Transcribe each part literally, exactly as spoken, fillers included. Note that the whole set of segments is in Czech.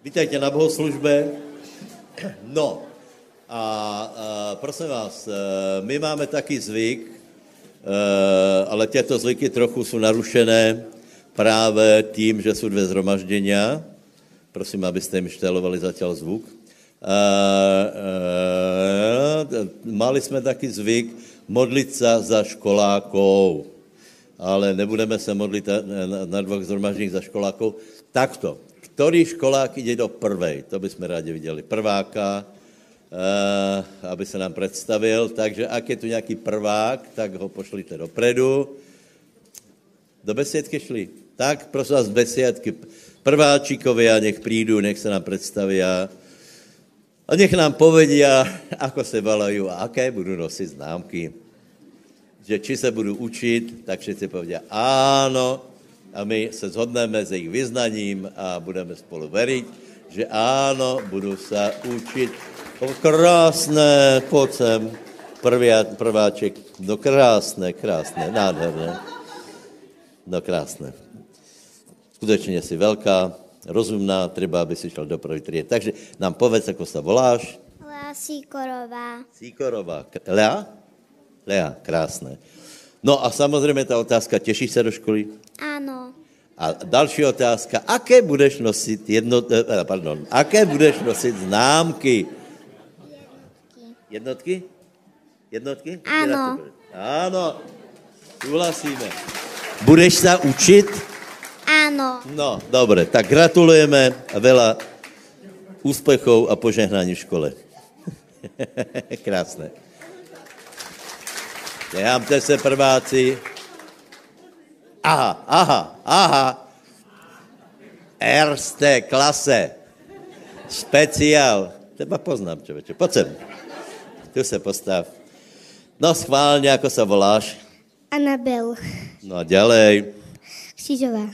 Vítajte na bohoslužbe. No, a, a prosím vás, my máme taký zvyk, ale tieto zvyky trochu sú narušené práve tým, že sú dve zhromaždenia. Prosím, abyste im štelovali zatiaľ zvuk. A, a, mali sme taký zvyk modliť sa za školákov, ale nebudeme sa modliť na, na dvoch zhromaždeních za školákov. Takto. Ktorý školák ide do prvej? To by sme rádi videli. Prváka, uh, aby sa nám predstavil. Takže ak je tu nejaký prvák, tak ho pošlite dopredu. Do besiedky šli? Tak, prosím vás, besiedky. Prváčikovia, nech prídu, nech sa nám predstavia. A nech nám povedia, ako sa volajú a aké budú nosiť známky. Že či sa budú učiť, tak všetci povedia áno. A my se zhodneme s ich vyznaním a budeme spolu veriť, že áno, budú sa učiť. Krásne, poď sem, prvia, prváček. No krásne, krásne, nádherné. No krásne. Skutečne si veľká, rozumná, treba, aby si šel do prvej triedy. Takže nám povedz, ako sa voláš. Lea Síkorová. Síkorová. Lea? Lea, krásne. No a samozrejme tá otázka, tešíš sa do školy? Áno. A další otázka, aké budeš nosiť jedno, pardon, aké budeš nosiť známky? Jednotky. Jednotky? Jednotky? Áno. Áno, súhlasíme. Budeš sa učiť? Áno. No, dobre, tak gratulujeme a veľa úspechov a požehnaní v škole. Krásne. Nehamte se, prváci. Aha, aha, aha. Erste klase. Špeciál. Teba poznám, človeče. Poď sem. Tu sa postav. No, schválne, ako sa voláš? Anabel. No a ďalej. Křížová.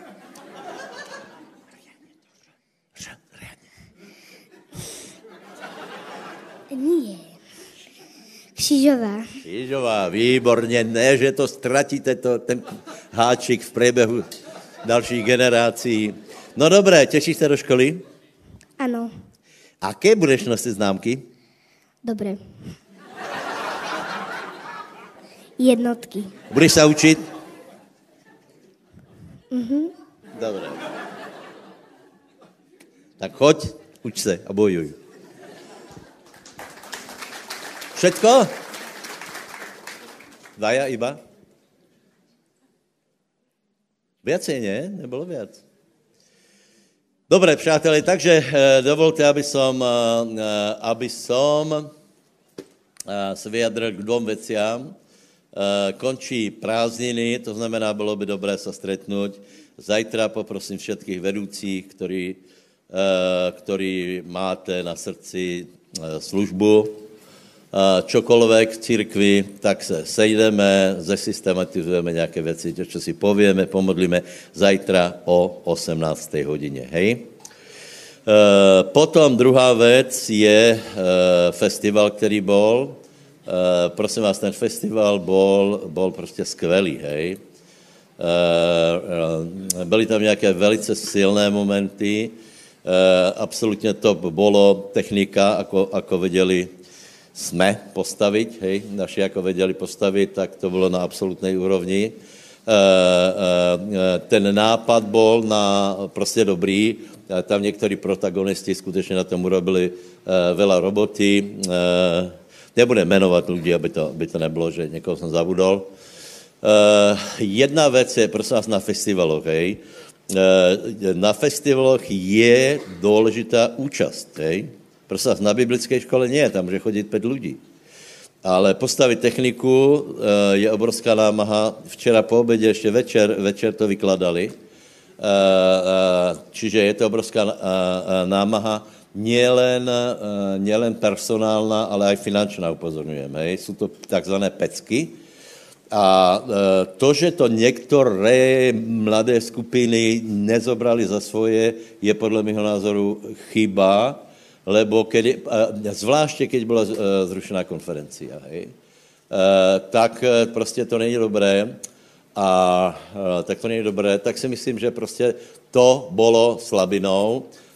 Nie. Křížová. Křížová, výborně, ne, že to ztratíte, to, ten háčik v priebehu dalších generací. No dobré, tešíš se do školy? Ano. Aké budeš nosit známky? Dobré. Jednotky. Budeš se učit? Mhm. Dobré. Tak choď, uč se a bojuj. Všetko? Dvaja iba? Viacej, nie? Nebolo viac. Dobre, přátelé, takže dovolte, aby som, aby som se vyjadril k dvom veciam. Končí prázdniny, to znamená, bylo by dobré sa stretnúť. Zajtra poprosím všetkých vedúcich, ktorí, ktorí máte na srdci službu, čokoľvek v cirkvi, tak se sejdeme, zesystematizujeme nejaké veci, čo si povieme, pomodlíme zajtra o osemnástej hodine, hej? E, potom druhá vec je e, festival, ktorý bol. E, prosím vás, ten festival bol, bol prostě skvelý, hej? E, e, byly tam nejaké velice silné momenty, e, absolutně to bolo technika, ako, ako vedeli sme postaviť, hej, naši ako vedeli postaviť, tak to bylo na absolútnej úrovni. E, e, ten nápad bol na prostě dobrý, tam niektorí protagonisti skutečne na tom urobili e, veľa roboty. E, nebudem menovať ľudí, aby to, aby to nebylo, že niekoho som zabudol. E, jedna vec je, prosím vás, na festivaloch, hej. E, na festivaloch je dôležitá účasť, hej. Prosím, na biblickej škole nie, tam může chodit pět lidí. Ale postavit techniku je obrovská námaha. Včera po obědě ještě večer, večer to vykladali. Čiže je to obrovská námaha. Nielen, nielen personálna, ale aj finančná, upozorňujeme. Jsou to takzvané pecky. A to, že to některé mladé skupiny nezobrali za svoje, je podle mého názoru chyba, lebo kedy, zvláště, keď byla zrušená konferencia, hej, tak prostě to není dobré a tak to není dobré, tak si myslím, že prostě to bylo slabinou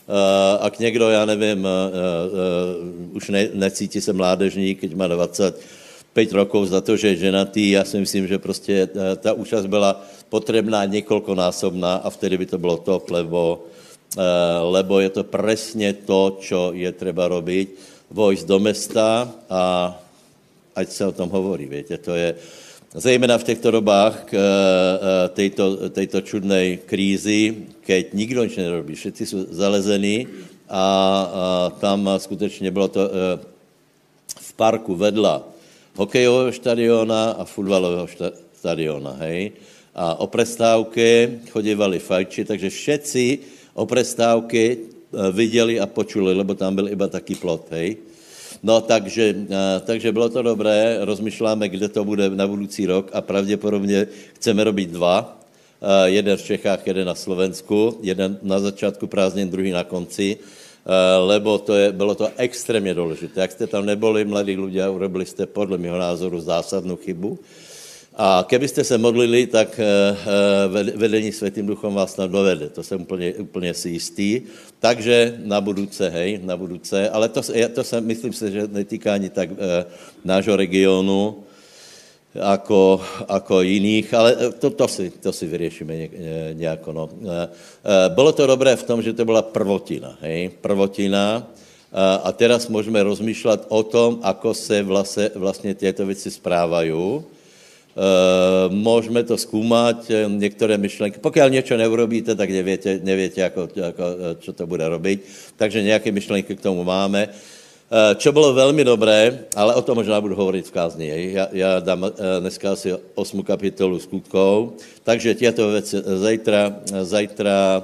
ak někdo, já nevím, už ne, necítí se mládežník, keď má dvadsaťpäť rokov za to, že je ženatý, já si myslím, že prostě ta účast byla potrebná niekoľkonásobná a vtedy by to bylo top, lebo, lebo je to presne to, čo je treba robiť, vojsť do mesta a ať se o tom hovorí, viete, to je zejména v těchto dobách k tejto, tejto čudnej krízy, keď nikdo nič nerobí, všetci sú zalezení a, a tam skutečně bylo to v parku vedla hokejového štadiona a futbalového štadiona, hej. A o prestávke chodívali fajči, takže všetci o prestávke viděli a počuli, lebo tam byl iba taký plot, hej. No, takže, takže bylo to dobré, rozmýšláme, kde to bude na budoucí rok a pravděpodobně chceme robiť dva. Jeden v Čechách, jeden na Slovensku, jeden na začátku prázdnin, druhý na konci, lebo to je, bylo to extrémně důležité. Jak jste tam neboli, mladí ľudia, urobili jste podle mého názoru zásadnou chybu. A kebyste se modlili, tak vedení Svätým Duchom vás tam dovede. To jsem úplně, úplně si jistý. Takže na budúce, hej, na budúce. Ale to, to se, myslím si, že netýká ani tak nášho regionu, ako, ako jiných, ale to, to, si, to si vyriešime nejako. No. Bylo to dobré v tom, že to byla prvotina, hej, prvotina. A teraz můžeme rozmýšlet o tom, ako se vlastně, vlastně tieto věci správajú. Uh, môžeme to skúmať, niektoré myšlenky. Pokiaľ niečo neurobíte, tak neviete, neviete ako, ako, čo to bude robiť. Takže nejaké myšlenky k tomu máme. Uh, čo bolo veľmi dobré, ale o tom možná budu hovoriť v kázni. Ja, ja dám uh, dneska asi osmú kapitolu skutkov. Takže tieto veci zajtra, zajtra uh,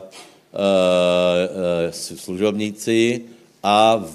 uh, služobníci a v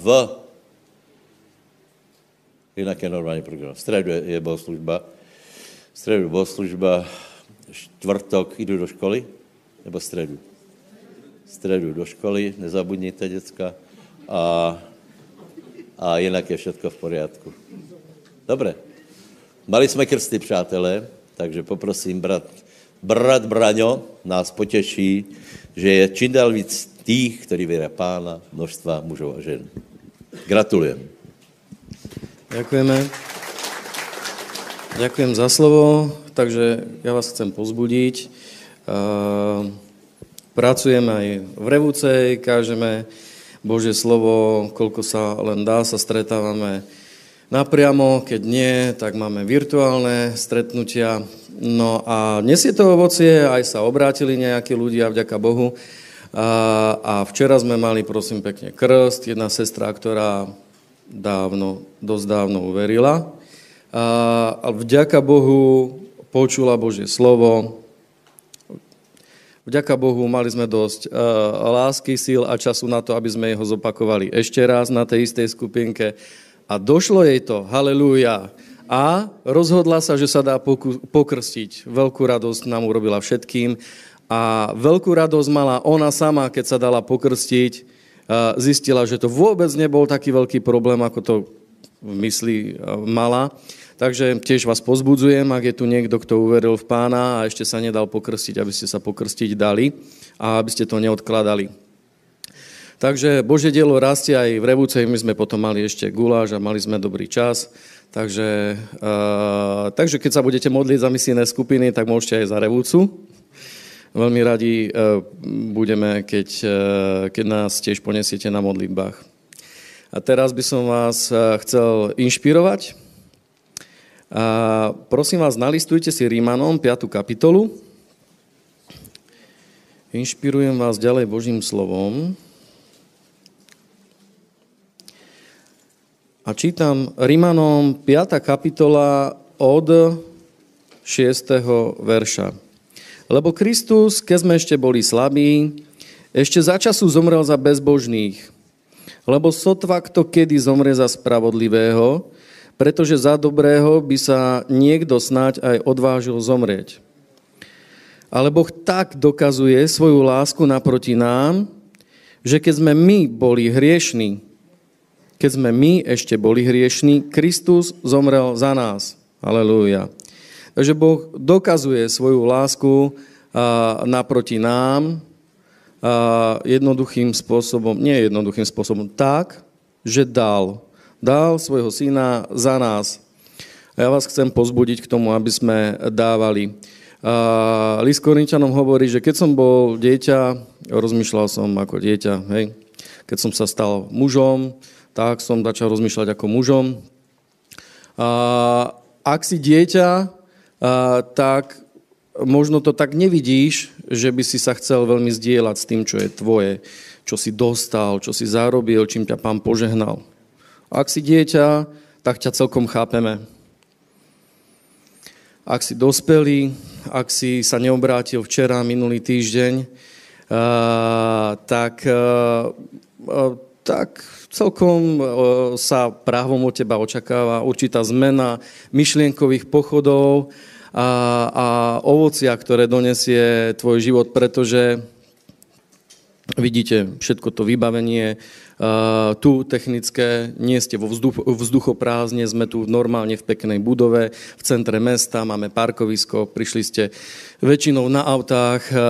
inak je normálny program. V stredu je, je bohoslužba. Středu bohoslužba, čtvrtok jdu do školy, nebo středu? Středu do školy, nezabudněte, děcka, a, a jinak je všetko v poriadku. Dobré. Mali jsme krsty, přátelé, takže poprosím, brat, brat Braňo nás potěší, že je čím dál víc tých, ktorí věria Pána, množstva mužov a žen. Gratulujem. Ďakujeme. Ďakujem za slovo, takže ja vás chcem pozbudiť. Pracujem aj v Revúcej, kážeme Božie slovo, koľko sa len dá, sa stretávame napriamo, keď nie, tak máme virtuálne stretnutia. No a dnes je to ovocie, aj sa obrátili nejakí ľudia, vďaka Bohu. A včera sme mali, prosím pekne, krst, jedna sestra, ktorá dávno, dosť dávno uverila. A vďaka Bohu počula Božie slovo. Vďaka Bohu mali sme dosť uh, lásky, síl a času na to, aby sme ho zopakovali ešte raz na tej istej skupinke. A došlo jej to, halelúja. A rozhodla sa, že sa dá poku- pokrstiť. Veľkú radosť nám urobila všetkým. A veľkú radosť mala ona sama, keď sa dala pokrstiť. Uh, zistila, že to vôbec nebol taký veľký problém, ako to v mysli uh, mala. Takže tiež vás pozbudzujem, ak je tu niekto, kto uveril v Pána a ešte sa nedal pokrstiť, aby ste sa pokrstiť dali a aby ste to neodkladali. Takže Božie dielo rastie aj v Revúcej, my sme potom mali ešte guláš a mali sme dobrý čas. Takže, uh, takže keď sa budete modliť za misijné skupiny, tak môžete aj za Revúcu. Veľmi radi uh, budeme, keď, uh, keď nás tiež ponesiete na modlitbách. A teraz by som vás uh, chcel inšpirovať. A prosím vás, nalistujte si Rímanom piatu kapitolu. Inšpirujem vás ďalej Božím slovom. A čítam Rímanom piata kapitola od šiesteho verša. Lebo Kristus, keď sme ešte boli slabí, ešte za času zomrel za bezbožných. Lebo sotva kto kedy zomre za spravodlivého, pretože za dobrého by sa niekto snáď aj odvážil zomrieť. Ale Boh tak dokazuje svoju lásku naproti nám, že keď sme my boli hriešní, keď sme my ešte boli hriešní, Kristus zomrel za nás. Halelúja. Takže Boh dokazuje svoju lásku naproti nám, jednoduchým spôsobom, nie jednoduchým spôsobom, tak, že dal. Dal svojho syna za nás. A ja vás chcem pozbudiť k tomu, aby sme dávali. A list Korinťanom hovorí, že keď som bol dieťa, rozmýšľal som ako dieťa, hej. Keď som sa stal mužom, tak som začal rozmýšľať ako mužom. A ak si dieťa, a, tak možno to tak nevidíš, že by si sa chcel veľmi zdieľať s tým, čo je tvoje, čo si dostal, čo si zarobil, čím ťa Pán požehnal. Ak si dieťa, tak ťa celkom chápeme. Ak si dospelý, ak si sa neobrátil včera, minulý týždeň, uh, tak, uh, uh, tak celkom uh, sa právom od teba očakáva určitá zmena myšlienkových pochodov a, a ovocia, ktoré donesie tvoj život, pretože vidíte, všetko to vybavenie, uh, tu technické, nie ste vo vzduch, vzduchoprázdne, sme tu normálne v peknej budove, v centre mesta, máme parkovisko, prišli ste väčšinou na autách, uh,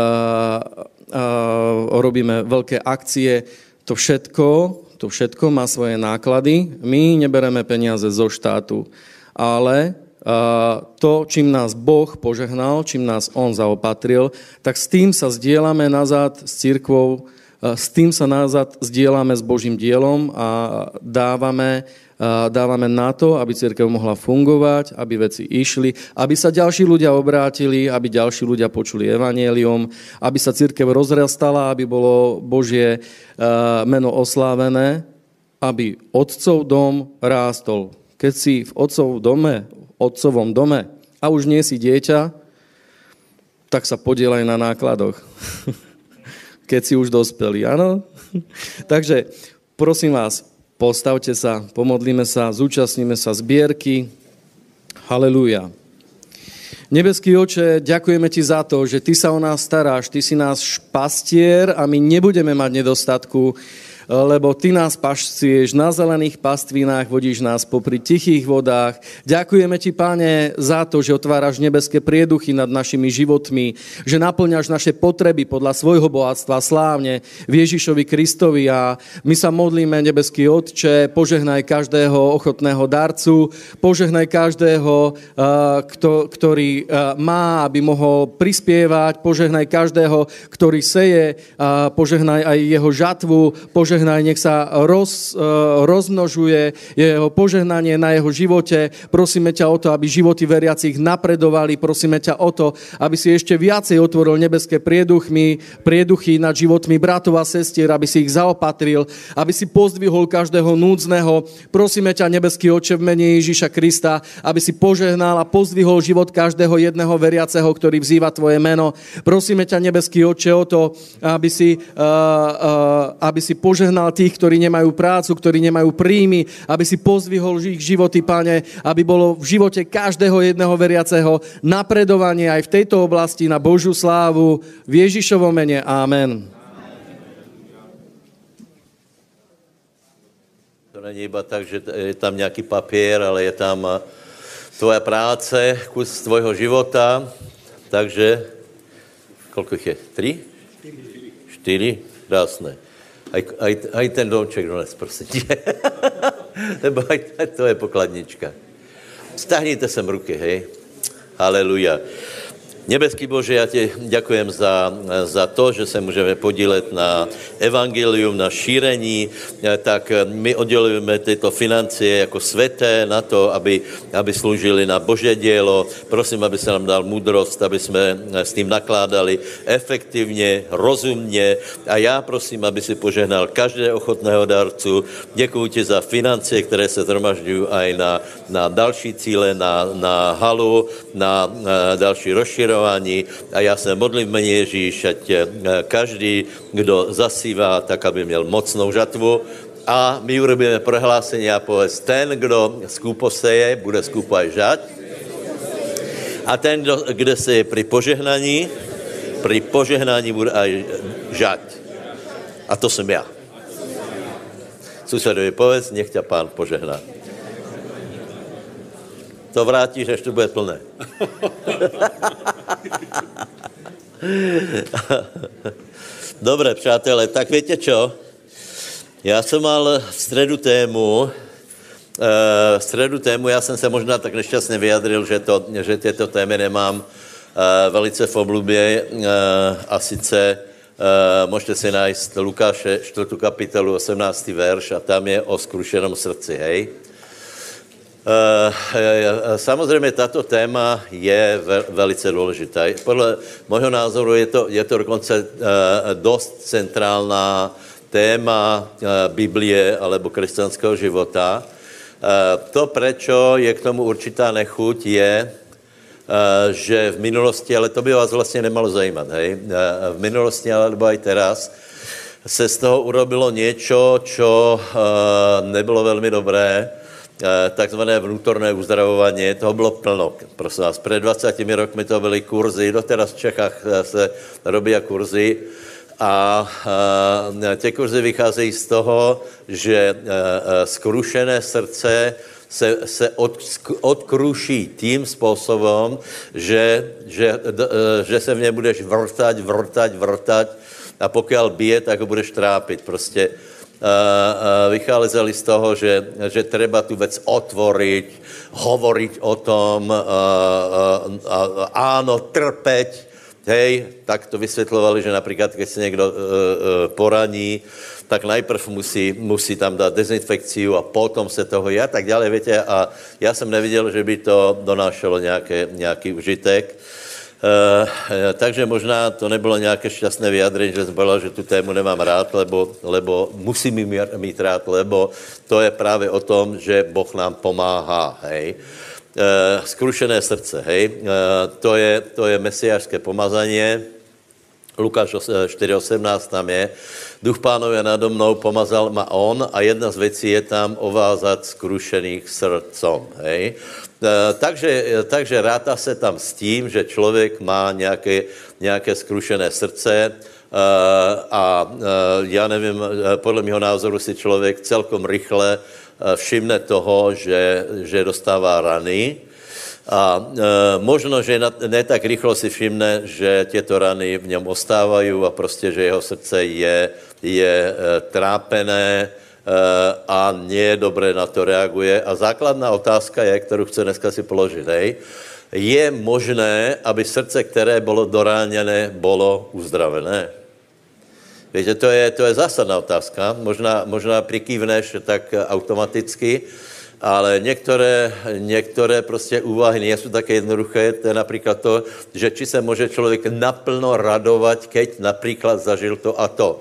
uh, robíme veľké akcie, to všetko, to všetko má svoje náklady, my nebereme peniaze zo štátu, ale uh, to, čím nás Boh požehnal, čím nás On zaopatril, tak s tým sa zdieľame nazad s cirkvou, s tým sa nazad zdieľame s Božím dielom a dávame, dávame na to, aby cirkev mohla fungovať, aby veci išli, aby sa ďalší ľudia obrátili, aby ďalší ľudia počuli evanjelium, aby sa cirkev rozrastala, aby bolo Božie meno oslávené, aby otcov dom rástol. Keď si v otcov dome, otcovom dome a už nie si dieťa, tak sa podieľaj na nákladoch. Keď si už dospelí, áno? Takže prosím vás, postavte sa, pomodlíme sa, zúčastníme sa zbierky. Halelúja. Nebeský Oče, ďakujeme Ti za to, že Ty sa o nás staráš, Ty si náš pastier a my nebudeme mať nedostatku, lebo Ty nás pašcieš na zelených pastvinách, vodíš nás popri tichých vodách. Ďakujeme Ti, Pane, za to, že otváraš nebeské prieduchy nad našimi životmi, že naplňaš naše potreby podľa svojho bohatstva slávne v Ježišovi Kristovi a my sa modlíme, nebeský Otče, požehnaj každého ochotného darcu, požehnaj každého, ktorý má, aby mohol prispievať, požehnaj každého, ktorý seje, požehnaj aj jeho žatvu, požehnaj Požehnaj, nech sa roz, rozmnožuje jeho požehnanie na jeho živote. Prosíme ťa o to, aby životy veriacich napredovali. Prosíme ťa o to, aby si ešte viacej otvoril nebeské prieduchy, prieduchy nad životmi bratov a sestier, aby si ich zaopatril, aby si pozdvihol každého núdzneho. Prosíme ťa, nebeský Otče, v mene Ježiša Krista, aby si požehnal a pozdvihol život každého jedného veriaceho, ktorý vzýva tvoje meno. Prosíme ťa, nebeský Otče, o to, aby si, uh, uh, aby si požehnal požehnal tých, ktorí nemajú prácu, ktorí nemajú príjmy, aby si pozdvihol ich životy, Pane, aby bolo v živote každého jedného veriaceho napredovanie aj v tejto oblasti na Božiu slávu. V Ježišovom mene. Amen. To není iba tak, že je tam nejaký papier, ale je tam tvoja práce, kus tvojho života. Takže, koľko ich je? Tri? Štyri? Krásne. Aj, aj, aj ten domček dones, prosím. Lebo aj, aj to je pokladnička. Stahnite sem ruky, hej. Haleluja. Nebeský Bože, ja Ti ďakujem za, za to, že sa môžeme podíleť na evangelium, na šírení, tak my oddelujeme tieto financie ako sveté na to, aby, aby slúžili na Božie dielo. Prosím, aby sa nám dal múdrosť, aby sme s tým nakládali efektívne, rozumne a ja prosím, aby si požehnal každého ochotného darcu. Ďakujem Ti za financie, ktoré sa zhromažďujú aj na, na další cíle, na, na halu, na, na další rozširovanie. A ja sa modlím v mene Ježíš, ať každý, kdo zasíva, tak aby měl mocnou žatvu. A my urobíme prehlásenie a povedz, ten, kdo skúpo seje, bude skúpo aj žať. A ten, kdo, kde seje pri požehnaní, pri požehnaní bude aj žať. A to som ja. Susedovi povedz, nech ťa Pán požehná. To vrátíš, až to bude plné. Dobre, přátelé, tak viete čo? Já jsem mal v středu tému, v středu tému, já jsem se možná tak nešťastně vyjadril, že, to, že tyto témy nemám velice v oblubě, a sice můžete si najít Lukáše čtvrtou kapitolu osemnáctý verš a tam je o skrušenom srdci, hej. Samozřejmě tato téma je velice důležitá. Podle mého názoru je to, je to dokonce dost centrálna téma Biblie alebo křesťanského života. To, prečo je k tomu určitá nechuť, je, že v minulosti, ale to by vás vlastně nemalo zajímat, hej, v minulosti, alebo aj teraz, se z toho urobilo niečo, čo nebylo velmi dobré, takzvané vnútorné uzdravovanie, toho bylo plno. Prosím vás, před dvaceti rokmi to byly kurzy, doteraz v Čechách se robí kurzy a ty kurzy vycházejí z toho, že skrušené srdce se, se od, odkruší tím způsobem, že, že, že se v něm budeš vrtať, vrtať, vrtať a pokud bije, tak ho budeš trápit. Prostě vycházeli z toho, že, že treba tu vec otvoriť, hovoriť o tom, a, a, a, áno, trpeť, hej, tak to vysvětlovali, že například, keď se někdo e, e, poraní, tak najprv musí, musí tam dát dezinfekciu a potom se toho je a tak dále, viete, a já jsem neviděl, že by to donášelo nějaké, nějaký užitek. Uh, takže možná to nebylo nějaké šťastné vyjadrení, že jsem povedal, že tu tému nemám rád, lebo, lebo musím ji mít rád, lebo to je právě o tom, že Boh nám pomáhá, hej. Uh, skrušené srdce, hej. Uh, to je, to je mesiášské pomazanie. Lukáš čtyři osemnáct tam je. Duch Pánov je nado mnou, pomazal ma on a jedna z věcí je tam ovázat skrušených srdcom, hej. Takže, takže ráta se tam s tím, že člověk má nějaké, nějaké skrušené srdce a já nevím, podle mého názoru si člověk celkom rychle všimne toho, že, že dostává rany a možno, že ne tak rychlo si všimne, že těto rany v něm ostávají a prostě, že jeho srdce je, je trápené, a nie dobré na to reaguje. A základná otázka je, kterou chci dneska si položit, hej. Je možné, aby srdce, které bylo doráněné, bylo uzdravené? Víte, to je, to je zásadná otázka. Možná, možná prikývneš tak automaticky, ale některé, některé prostě úvahy nie jsou také jednoduché. To je například to, že či se může člověk naplno radovat, keď například zažil to a to.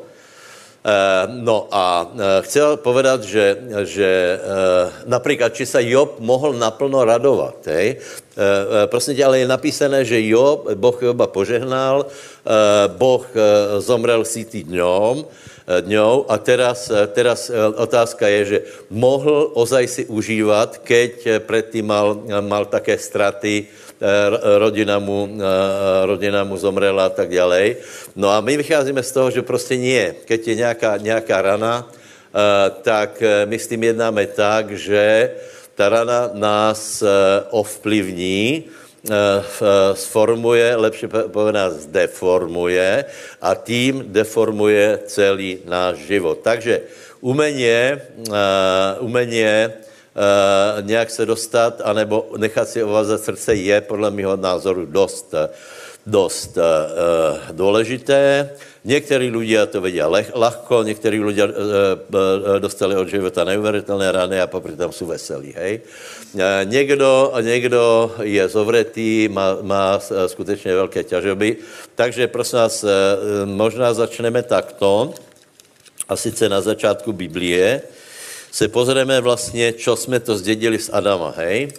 No a chcel povedať, že, že napríklad, či sa Job mohol naplno radovať, hej? Prosím tě, ale je napísané, že Job, Boh Joba požehnal, Boh zomrel sýtý dňom, dňou a teraz, teraz otázka je, že mohl ozaj si užívat, keď predtým mal, mal také straty, rodina mu, rodina mu zomrela a tak ďalej. No a my vycházíme z toho, že prostě nie. Keď je nějaká, nějaká rana, tak my s tím jednáme tak, že ta rana nás ovplyvní, sformuje, lepšie povedané zdeformuje a tím deformuje celý náš život. Takže umenie, umenie Uh, nějak se dostat, anebo nechat si ovázat srdce je podle mého názoru dost, dost uh, důležité. Někteří lidé to vědí ľahko, někteří lidé uh, dostali od života neuvěřitelné rany a popri tam jsou veselí, hej. Uh, někdo, někdo je zovretý, má, má skutečně velké ťažoby, takže prosím vás, uh, možná začneme takto, a sice na začátku Biblie, se pozrieme vlastně, čo jsme to zdědili z Adama, hej?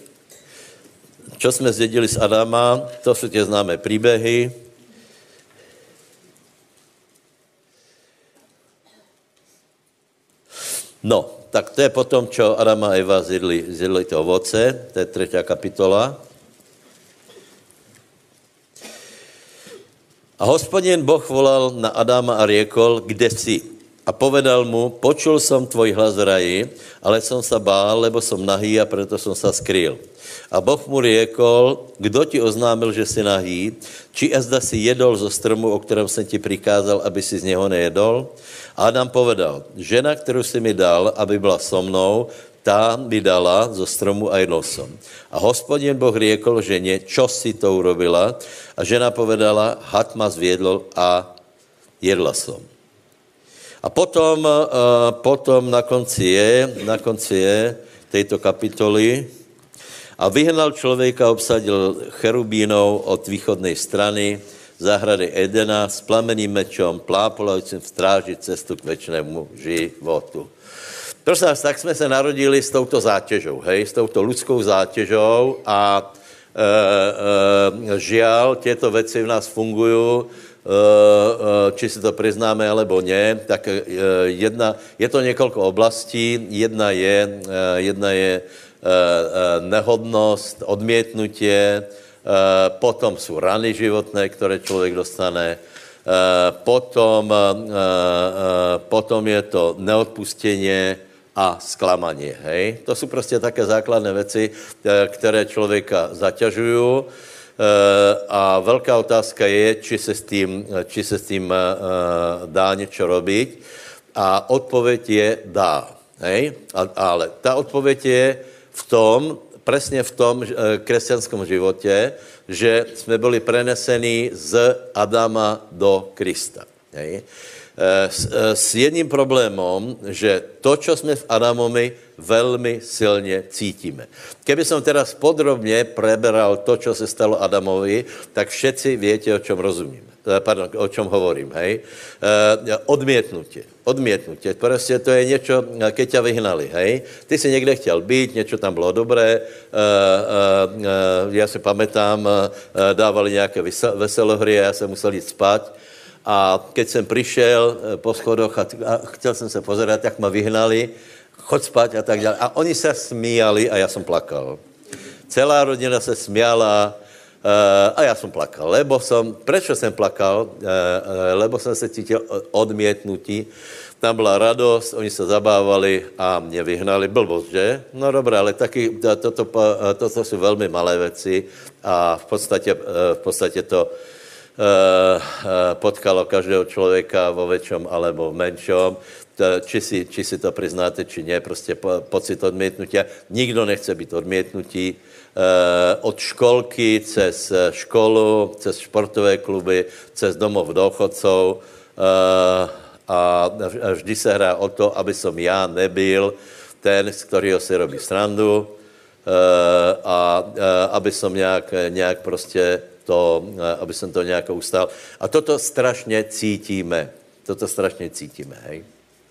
Čo jsme zdědili z Adama, to jsou tě známé příběhy. No, tak to je potom, čo Adam a Eva zjedli, zjedli to ovoce, to je třetí kapitola. A Hospodin Boh volal na Adama a riekol, kde si? A povedal mu, počul som tvoj hlas v raji, ale som sa bál, lebo som nahý a preto som sa skrýl. A Boh mu riekol, kdo ti oznámil, že si nahý, či azda si jedol zo stromu, o ktorom som ti prikázal, aby si z neho nejedol? A Adam povedal, žena, ktorú si mi dal, aby byla so mnou, tá mi dala zo stromu a jedol som. A Hospodin Boh riekol žene, čo si to urobila? A žena povedala, had ma zviedol a jedla som. A potom, uh, potom na konci je, na konci je tejto kapitoly a vyhnal človeka, obsadil cherubínov od východnej strany záhrady Edena s plameným mečom, plápolavcím v stráži cestu k večnému životu. Prosím vás, tak jsme se narodili s touto zátěžou, hej, s touto lidskou zátěžou a e, e, žiaľ, tieto veci v nás fungujú, či si to priznáme, alebo nie, tak jedna, je to niekoľko oblastí. Jedna je, jedna je nehodnosť, odmietnutie, potom sú rany životné, ktoré človek dostane, potom, potom je to neodpustenie a sklamanie. Hej? To sú proste také základné veci, ktoré človeka zaťažujú. A veľká otázka je, či sa s tým, či sa s tým dá niečo robiť. A odpoveď je dá. Hej? Ale tá odpoveď je v tom, presne v tom kresťanskom živote, že sme boli prenesení z Adama do Krista. Hej? S, s jedným problémom, že to, čo sme v Adamovi, veľmi silne cítime. Keby som teraz podrobne preberal to, čo sa stalo Adamovi, tak všetci viete, o čom rozumím. Pardon, o čom hovorím, hej? Odmietnutie. Odmietnutie. Proste to je niečo, keď ťa vyhnali, hej? Ty si niekde chtěl byť, niečo tam bolo dobré, ja si pamätám, dávali nejaké veselohry a ja som musel ísť spať. A keď som prišiel po schodoch a, a chcel som sa pozerať, tak ma vyhnali, choď spať a tak ďalej. A oni sa smíjali a ja som plakal. Celá rodina sa smiala uh, a ja som plakal. Lebo som, prečo som plakal? Uh, lebo som sa cítil odmietnutí. Tam bola radosť, oni sa zabávali a mne vyhnali. Blbosť, že? No dobré, ale taky, toto, toto sú veľmi malé veci a v podstate, v podstate to potkalo každého človeka vo väčšom alebo v menšom. Či si, či si to priznáte, či nie, proste po, pocit odmietnutia. Nikto nechce byť odmietnutý. Od školky cez školu, cez športové kluby, cez domov dôchodcov a vždy sa hrá o to, aby som ja nebyl ten, z ktorého si robí srandu a aby som nejak, nejak proste to, aby som to nejako ustal. A toto strašne cítime. Toto strašne cítime, hej.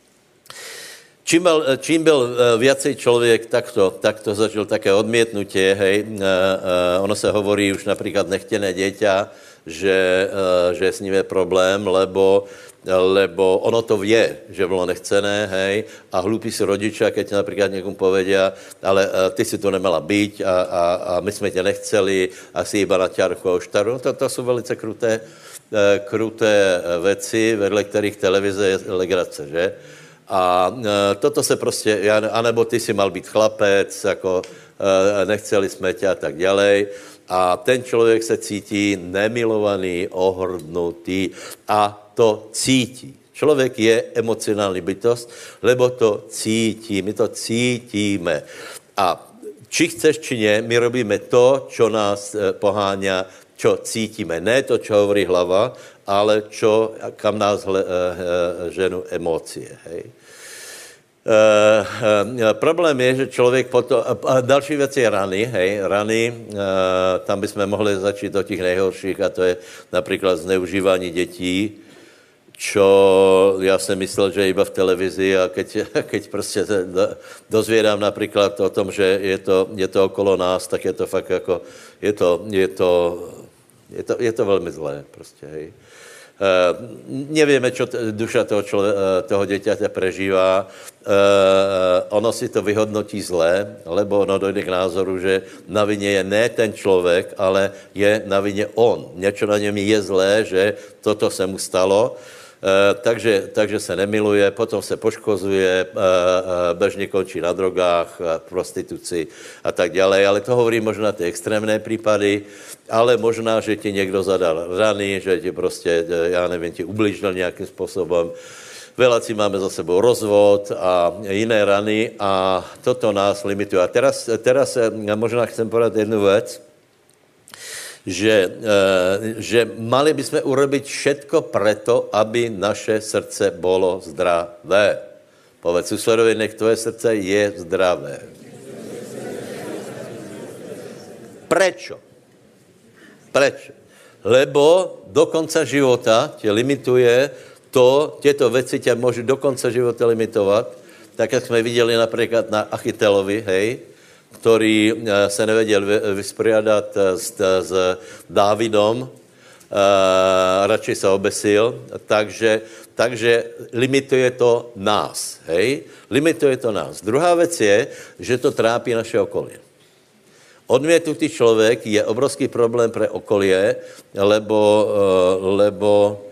Čím byl, čím byl viacej člověk takto, takto zažil také odmietnutie, hej, ono sa hovorí už napríklad nechtené dieťa, že, že s ním je problém, lebo lebo ono to vie, že bylo nechcené, hej, a hlúpi si rodičia, keď napríklad niekomu povedia, ale uh, ty si tu nemala byť a, a, a my sme ťa nechceli a si iba na ťarchu a oštaru. To, to sú velice kruté, uh, kruté veci, vedle ktorých televize je legrace, že? A uh, toto se prostě, ja, anebo ty si mal byť chlapec, ako uh, nechceli sme ťa a tak ďalej. A ten člověk se cítí nemilovaný, ohrdnutý a to cítí. Člověk je emocionální bytost, lebo to cítí, my to cítíme. A či chceš, či nie, my robíme to, čo nás poháňa, čo cítíme. Ne to, čo hovorí hlava, ale čo, kam nás hle, ženú emócie, hej. Uh, uh, problém je, že člověk potom... Uh, další věc je rany, hej, rany. Uh, tam bychom mohli začít od těch nejhorších a to je například zneužívání dětí, čo já jsem myslel, že iba v televizi a keď, keď prostě dozvědám například o tom, že je to, je to okolo nás, tak je to fakt jako... Je to, je to, je to, je to velmi zlé, prostě, hej. Uh, nevieme, čo t- duša toho, člo- toho dieťaťa prežívá. Uh, ono si to vyhodnotí zle, lebo ono dojde k názoru, že na vině je ne ten člověk, ale je na vině on. Niečo na něm je zlé, že toto se mu stalo. takže, takže se nemiluje, potom se poškozuje, bežně končí na drogách, prostituci a tak ďalej, ale to hovorí možná ty extrémné prípady, ale možná, že ti někdo zadal rany, že ti prostě, já nevím, ti ublížil nějakým způsobem. Veláci máme za sebou rozvod a jiné rany a toto nás limituje. A teraz, teraz ja možná chcem povedať jednu vec, že, že mali by sme urobiť všetko preto, aby naše srdce bolo zdravé. Povedz susedovi, nech tvoje srdce je zdravé. Prečo? Prečo? Lebo do konca života tě limituje to, tieto veci ťa môžu do konca života limitovať, tak, jak sme videli napríklad na Achitelovi, hej, ktorý sa nevedel vysporiadať s, s Dávidom, a radšej sa obesil, takže, takže limituje to nás, hej, limituje to nás. Druhá vec je, že to trápí naše okolie. Odmietnutý človek je obrovský problém pre okolie, lebo, lebo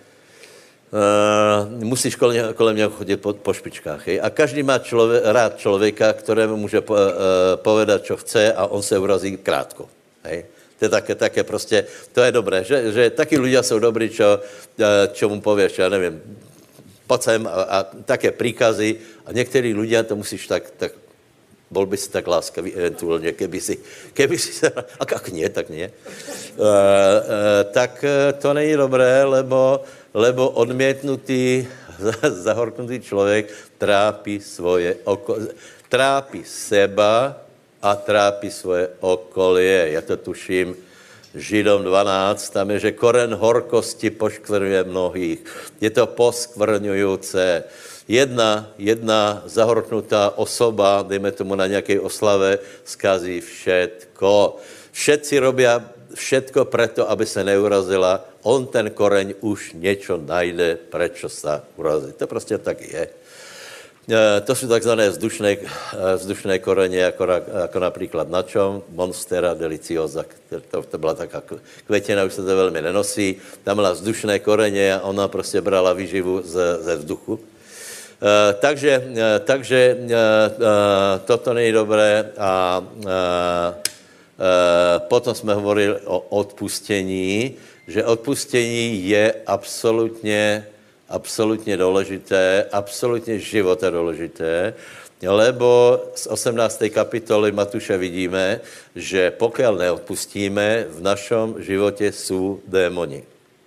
Uh, musíš kolem, kolem něho chodit po, po špičkách. Hej? A každý má člově, rád člověka, ktorému může po, uh, povedat, čo chce a on se urazí krátko. Hej? To je také, také prostě, to je dobré, že, že taky ľudia jsou dobrý, čo, uh, čo mu pověš, já nevím, poď sem a, a také príkazy a některý ľudia to musíš tak, tak bol by si tak láskavý eventuálně, keby si, keby si se, a jak nie, tak nie. Uh, uh, tak uh, to není dobré, lebo lebo odmietnutý, zahorknutý človek trápi svoje okolie, trápi seba a trápi svoje okolie. Ja to tuším, Židom dvanásť, tam je, že koren horkosti poškvrňuje mnohých. Je to poskvrňujúce. Jedna, jedna zahorknutá osoba, dejme tomu na nejakej oslave, skazí všetko. Všetci robia všetko preto, aby se neurazila. On ten koreň už niečo najde, prečo sa urazí. To prostě tak je. E, to sú takzvané vzdušné, vzdušné korene, ako, ako napríklad na čom? Monstera deliciosa. To, to byla taká květina, už se to velmi nenosí. Tam byla vzdušné korene a ona prostě brala výživu ze, ze vzduchu. E, takže e, takže e, e, toto není dobré a e, Uh, potom jsme hovorili o odpustení, že odpustení je absolutně, absolutně důležité, absolutně života důležité, lebo z osemnácté kapitoly Matúša vidíme, že pokud neodpustíme, v našem životě jsou démoni.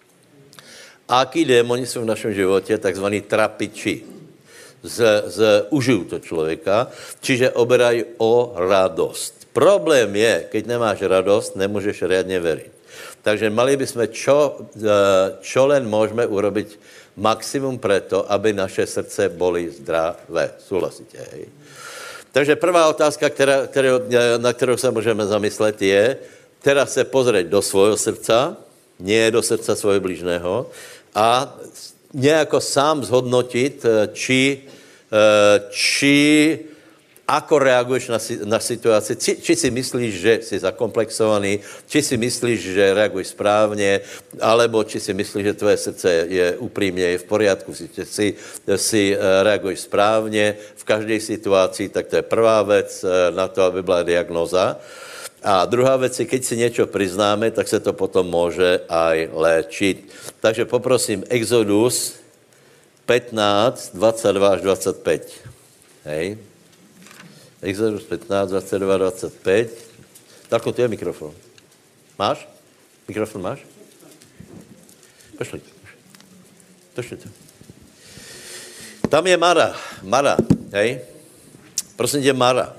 A aký démoni jsou v našem životě? Takzvaní trapiči. Z, z, užujú to člověka, čiže oberají o radost. Problém je, keď nemáš radost, nemůžeš riadne veriť. Takže mali bychom, čo, čo len môžeme urobiť maximum preto, aby naše srdce boli zdravé. Súhlasíte, hej? Takže prvá otázka, která, kterou, na kterou se můžeme zamyslet, je teraz se pozrieť do svojho srdca, nie do srdca svojho blížného, a nejako sám zhodnotit, či, či ako reaguješ na, na situaci, či, či si myslíš, že si zakomplexovaný, či si myslíš, že reaguješ správně, alebo či si myslíš, že tvoje srdce je upřímně, je v poriadku, si, si, si reaguješ správně v každé situaci, tak to je prvá věc na to, aby byla diagnóza. A druhá věc je, keď si něco priznáme, tak se to potom může aj léčit. Takže poprosím Exodus pätnásť, dvadsaťdva až dvadsaťpäť. Hej. Exodus pätnásť, dvadsaťdva, dvadsaťpäť. Darko, tu je mikrofon. Máš? Mikrofon máš? Pošli. Pošli to. Tam je Mara. Mara, hej? Prosím tě, Mara.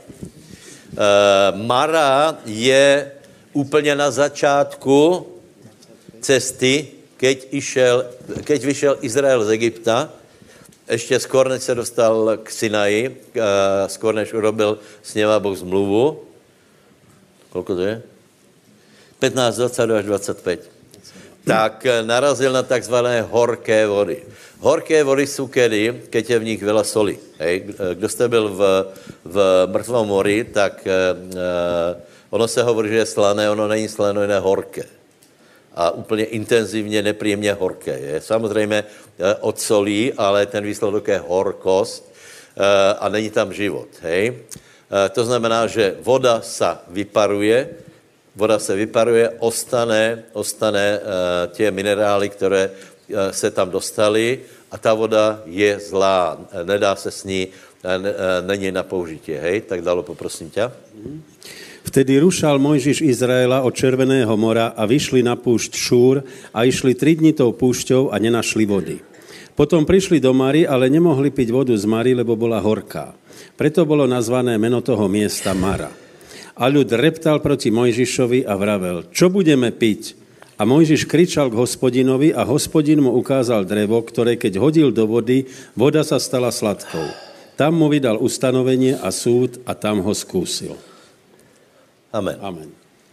Uh, Mara je úplně na začátku cesty, keď, išel, keď vyšel Izrael z Egypta, ještě skôr, než se dostal k Sinaji, uh, skôr, než urobil s něma Boh zmluvu. Kolko to je? pätnásť, dvadsaťdva až dvadsaťpäť. Tak narazil na takzvané horké vody. Horké vody jsou kedy, keď je v nich veľa soli. Hej? Kdo jste byl v, v mrtvom mori, tak uh, ono se hovorí, že je slané, ono není slané, ono je horké. a úplně intenzivně, nepříjemně horké. Je. Samozřejmě od solí, ale ten výsledek je horkost a není tam život. Hej? To znamená, že voda sa vyparuje, voda se vyparuje, ostane, ostane tie minerály, které se tam dostali a ta voda je zlá, nedá se s ní, není na použití. Hej? Tak dalo, poprosím ťa. Vtedy rušal Mojžiš Izraela od Červeného mora a vyšli na púšť Šúr a išli tri dni tou púšťou a nenašli vody. Potom prišli do Mary, ale nemohli piť vodu z Mary, lebo bola horká. Preto bolo nazvané meno toho miesta Mara. A ľud reptal proti Mojžišovi a vravel, čo budeme piť? A Mojžiš kričal k Hospodinovi a Hospodin mu ukázal drevo, ktoré keď hodil do vody, voda sa stala sladkou. Tam mu vydal ustanovenie a súd a tam ho skúsil. Amen. Amen.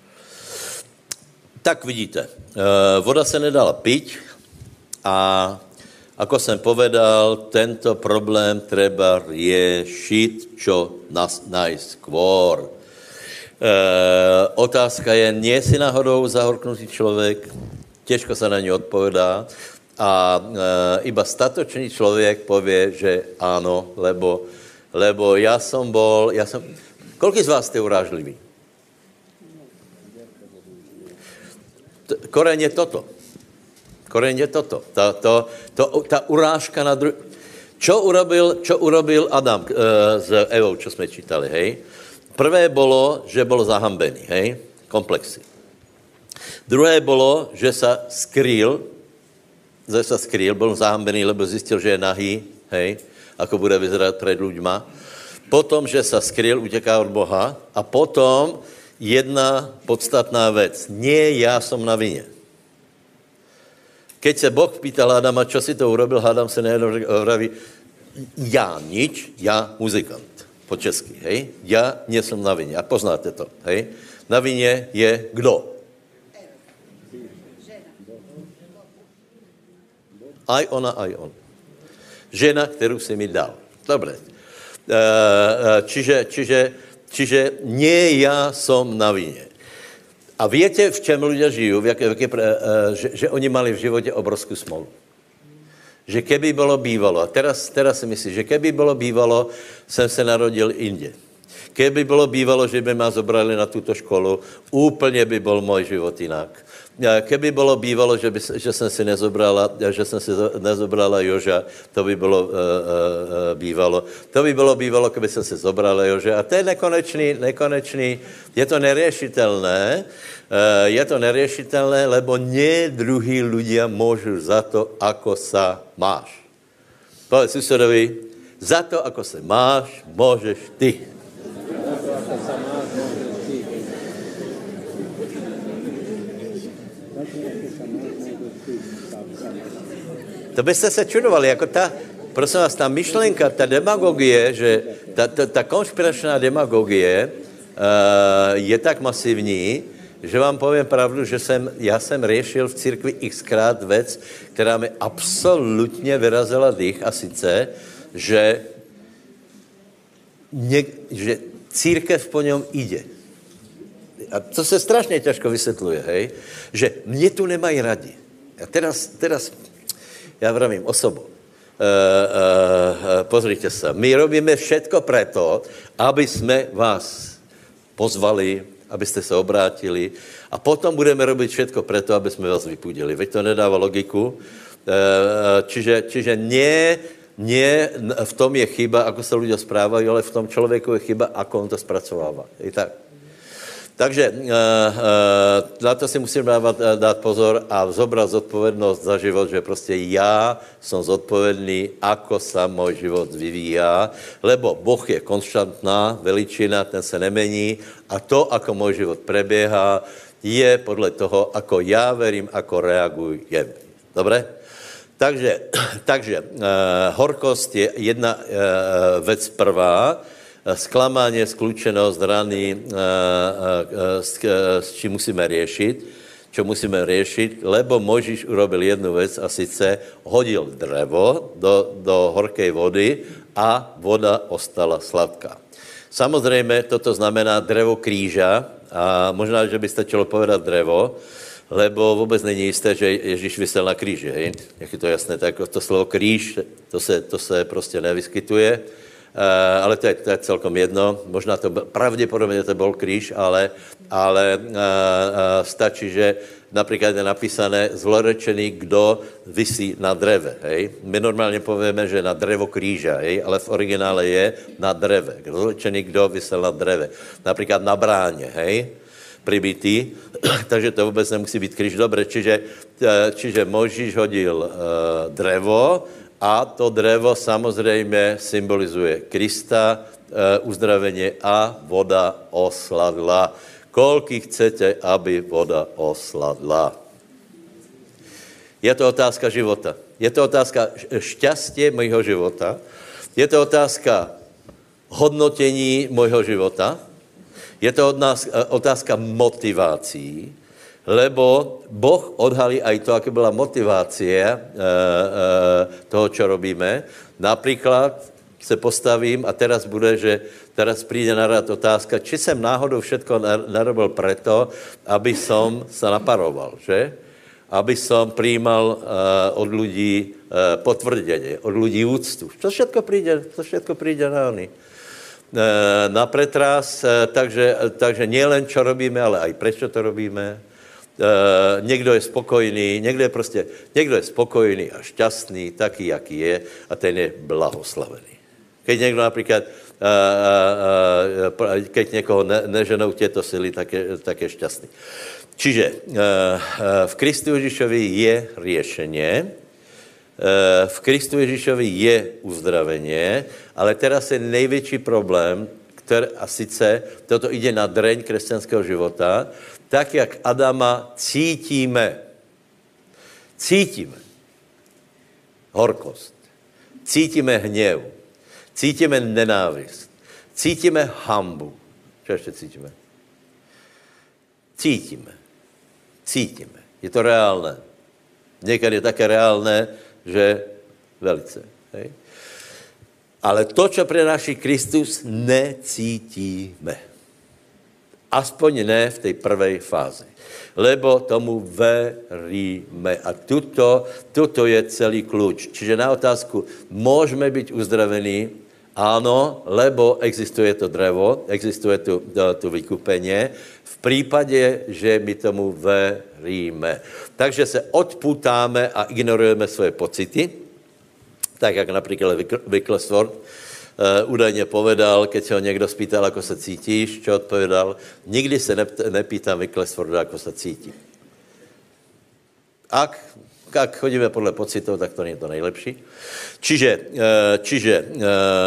Tak vidíte, voda se nedala piť a ako jsem povedal, tento problém treba riešiť, čo nás najskôr. E, otázka je, nie si náhodou zahorknutý člověk, těžko se na ňu odpovedá a e, iba statočný člověk povie, že áno, lebo, lebo ja som bol, ja som, koľký z vás ste urážliví? Koreň je toto. Koreň je toto. Ta, to, to, ta urážka na druhý... Čo urobil, čo urobil Adam e, s Evou, čo sme čítali, hej? Prvé bolo, že bol zahambený, hej? Komplexy. Druhé bolo, že sa skrýl, že sa skrýl, bol zahambený, lebo zistil, že je nahý, hej? Ako bude vyzerať pred ľuďma. Potom, že sa skrýl, uteká od Boha. A potom jedna podstatná vec. Nie ja som na vine. Keď sa Boh pýtal Adama, čo si to urobil, Adam sa nejednou vraví, ja nič, ja muzikant. Po česky, hej? Ja nie som na vine. A poznáte to, hej? Na vine je kdo? Aj ona, aj on. Žena, ktorú si mi dal. Dobre. Čiže, čiže Čiže nie ja som na vine. A viete, v čem ľudia žijú? V jaké, v jaké, že, že oni mali v živote obrovskú smolu. Že keby bolo bývalo, a teraz, teraz si myslím, že keby bolo bývalo, som sa narodil inde. Keby bolo bývalo, že by ma zobrali na túto školu, úplne by bol môj život inak. Keby bolo bývalo, že, by, že som si nezobrala, že som si nezobrala Joža, to by bolo uh, uh, bývalo. To by bolo bývalo, keby som si zobrala Joža. A to je nekonečný, nekonečný, je to neriešitelné, uh, je to neriešitelné, lebo nie druhí ľudia môžu za to, ako sa máš. Povedz susedovi, za to, ako sa máš, môžeš ty. To byste se čudovali, jako ta, prosím vás, ta myšlenka, ta demagogie, že ta, ta, ta konšpiračná demagogie uh, je tak masivní, že vám povím pravdu, že jsem, já jsem riešil v církvi xkrát věc, která mi absolutně vyrazila dých, a sice, že, ně, že církev po něm jde. A to se strašně těžko vysvětluje, hej? Že mě tu nemají radi. A teraz, teraz já vravím osobu. E, e, e, pozrite sa, my robíme všetko preto, aby jsme vás pozvali, abyste se obrátili a potom budeme robiť všetko preto, aby jsme vás vypudili. Veď to nedává logiku. E, čiže, čiže nie, nie v tom je chyba, ako sa ľudia správajú, ale v tom člověku je chyba, ako on to spracovává. I tak. Takže uh, uh, na to si musím dávat, uh, dát pozor a zobrať zodpovednosť za život, že prostě já som zodpovedný, ako sa môj život vyvíjá, lebo Boh je konštantná veličina, ten se nemení a to, ako môj život prebieha, je podle toho, ako já verím, ako reagujem. Dobre? Takže, takže uh, horkost je jedna uh, vec prvá, sklamanie, skľúčenosť, rany, s, s čím musíme riešiť, čo musíme riešiť, lebo Mojžiš urobil jednu vec a sice hodil drevo do, do horkej vody a voda ostala sladká. Samozrejme, toto znamená drevo kríža a možná, že by stačilo povedať drevo, lebo vůbec není jisté, že Ježíš visel na kríži, hej? Jak je to jasné, tak to slovo kríž, to se, to se prostě nevyskytuje, uh, ale to je, to je celkom jedno, možná to, pravděpodobně to byl kríž, ale, ale uh, uh, stačí, že například je napísané zlorečený, kdo visí na dreve, hej? My normálně povíme, že na drevo kríža, hej? Ale v originále je na dreve, zlorečený, kdo visel na dreve, například na bráně, hej? Pribitý, takže to vůbec nemusí být kříž. Dobre, čiže, čiže Mojžíš hodil uh, drevo a to drevo samozřejmě symbolizuje Krista, uh, uzdravení a voda osladla. Koľky chcete, aby voda osladla? Je to otázka života. Je to otázka šťastie mojho života. Je to otázka hodnotení mojho života. Je to od nás otázka motivácií, lebo Boh odhalí aj to, aká byla motivácia e, e, toho, čo robíme. Napríklad se postavím a teraz bude, že teraz príde na rad otázka, či jsem náhodou všetko narobil preto, aby som sa naparoval, že? Aby som prijímal e, od ľudí e, potvrdenie, od ľudí úctu. To všetko príde, to všetko príde na oni. Na pretras, takže, takže nie len čo robíme, ale aj prečo to robíme. Někdo je spokojný, někdo je prostě, někdo je spokojný a šťastný, taký, jaký je, a ten je blahoslavený. Keď někdo například, keď někoho ne, neženou těto sily, tak je, tak je šťastný. Čiže v Kristu Ježíšovi je riešenie, v Kristu Ježíšovi je uzdravenie, ale teraz je největší problém, který, a sice toto ide na dreň křesťanského života, tak, jak Adama cítíme. Cítíme horkost, cítíme hněv, cítíme nenávist, cítíme hanbu. Čo ještě cítíme? Cítíme. Cítíme. Je to reálné. Někdy je také reálné, že velice. Hej? Ale to, čo prináší Kristus, necítíme. Aspoň ne v tej prvej fázi. Lebo tomu veríme. A tuto, tuto je celý kľúč. Čiže na otázku, môžeme byť uzdravení? Áno, lebo existuje to drevo, existuje tu, tu vykúpenie, v prípade, že my tomu veríme. Takže se odputáme a ignorujeme svoje pocity, tak jak napríklad Wicklesworth uh, údajně povedal, keď se ho někdo spýtal, ako se cítíš, čo odpovedal, nikdy se nepýtám Wickleswortha, ako se cítí. Ak, ak chodíme podle pocitov, tak to nie je to nejlepší. Čiže, uh, čiže uh,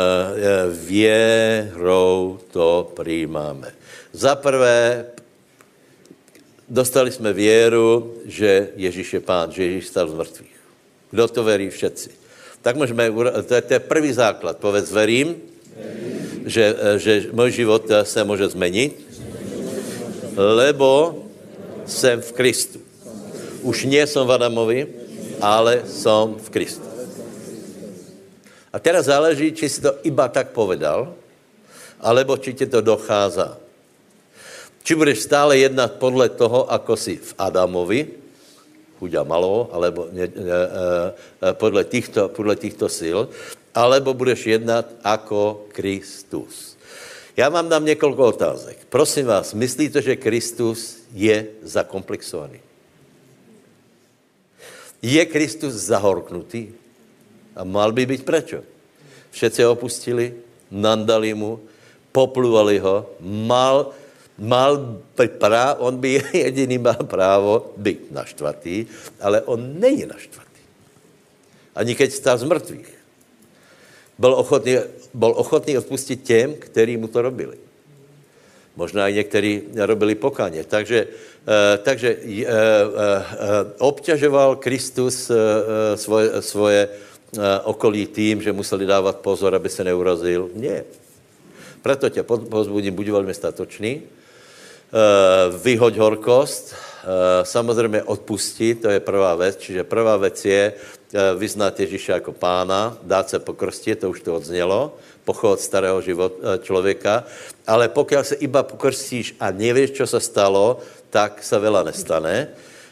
věrou to přijímáme. Za prvé, dostali jsme věru, že Ježíš je Pán, že Ježíš stal z mrtvých. Kdo to verí? Všetci. Tak můžeme, to je, to je prvý základ. Povedz, verím, verím. Že, že můj život se může změnit, lebo jsem v Kristu. Už nie som v Adamovi, ale som v Kristu. A teraz záleží, či si to iba tak povedal, alebo či ti to dochází. Či budeš stále jednat podle toho, ako si v Adamovi, chuďa malo, alebo ne, ne, ne, podle, týchto, podle týchto sil, alebo budeš jednat ako Kristus. Já vám dám několik otázek. Prosím vás, myslíte, že Kristus je zakomplexovaný? Je Kristus zahorknutý? A mal by být prečo? Všetci ho opustili, nandali mu, popluvali ho, mal... Mal právo, on by jediný mal právo být naštvatý, ale on není naštvatý. Ani keď stál z mrtvých. Byl ochotný, byl ochotný odpustit těm, kteří mu to robili. Možná i někteří robili pokáně. Takže, eh, takže eh, eh, obťažoval Kristus eh, svoje, svoje eh, okolí tím, že museli dávat pozor, aby se neurazil. Nie. Proto tě pozbudím, buď velmi statočný, vyhoď horkost, samozřejmě odpustit, to je prvá věc, čiže prvá věc je vyznat Ježíša jako Pána, dát se pokrstit, to už to odznělo, pochod starého život, člověka, ale pokud se iba pokrstíš a nevíš, co se stalo, tak se veľa nestane.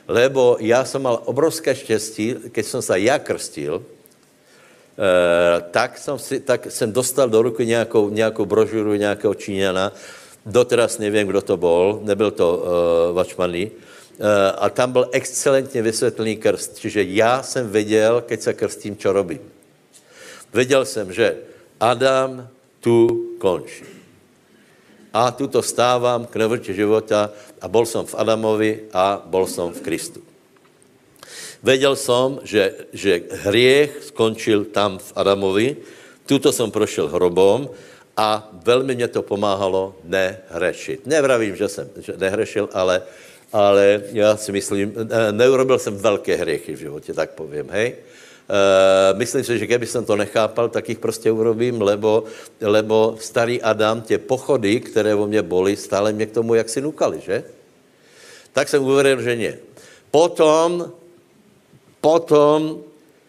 Lebo ja som mal obrovské štěstí, keď som sa ja krstil, Uh, tak, som si, tak jsem dostal do ruky nějakou, nějakou brožuru nějakého Číňana, doteraz nevím, kdo to bol, nebyl to uh, Vačmany, uh, a tam byl excelentně vysvětlený krst, čiže já jsem věděl, keď se krstím, čo robím. Věděl jsem, že Adam tu končí. A tuto stávám k novote života a bol som v Adamovi a bol som v Kristu. Vedel som, že, že hriech skončil tam v Adamovi, tuto som prošel hrobom a veľmi mě to pomáhalo nehrešit. Nevravím, že jsem že nehrešil, ale, ale já si myslím, neurobil jsem velké hriechy v životě, tak povím, hej. Uh, myslím si, že keby jsem to nechápal, tak jich prostě urobím, lebo, lebo starý Adam, tě pochody, které o mě boli, stále mě k tomu jaksi nukali, že? Tak jsem uvěřil, že ne. Potom Potom uh,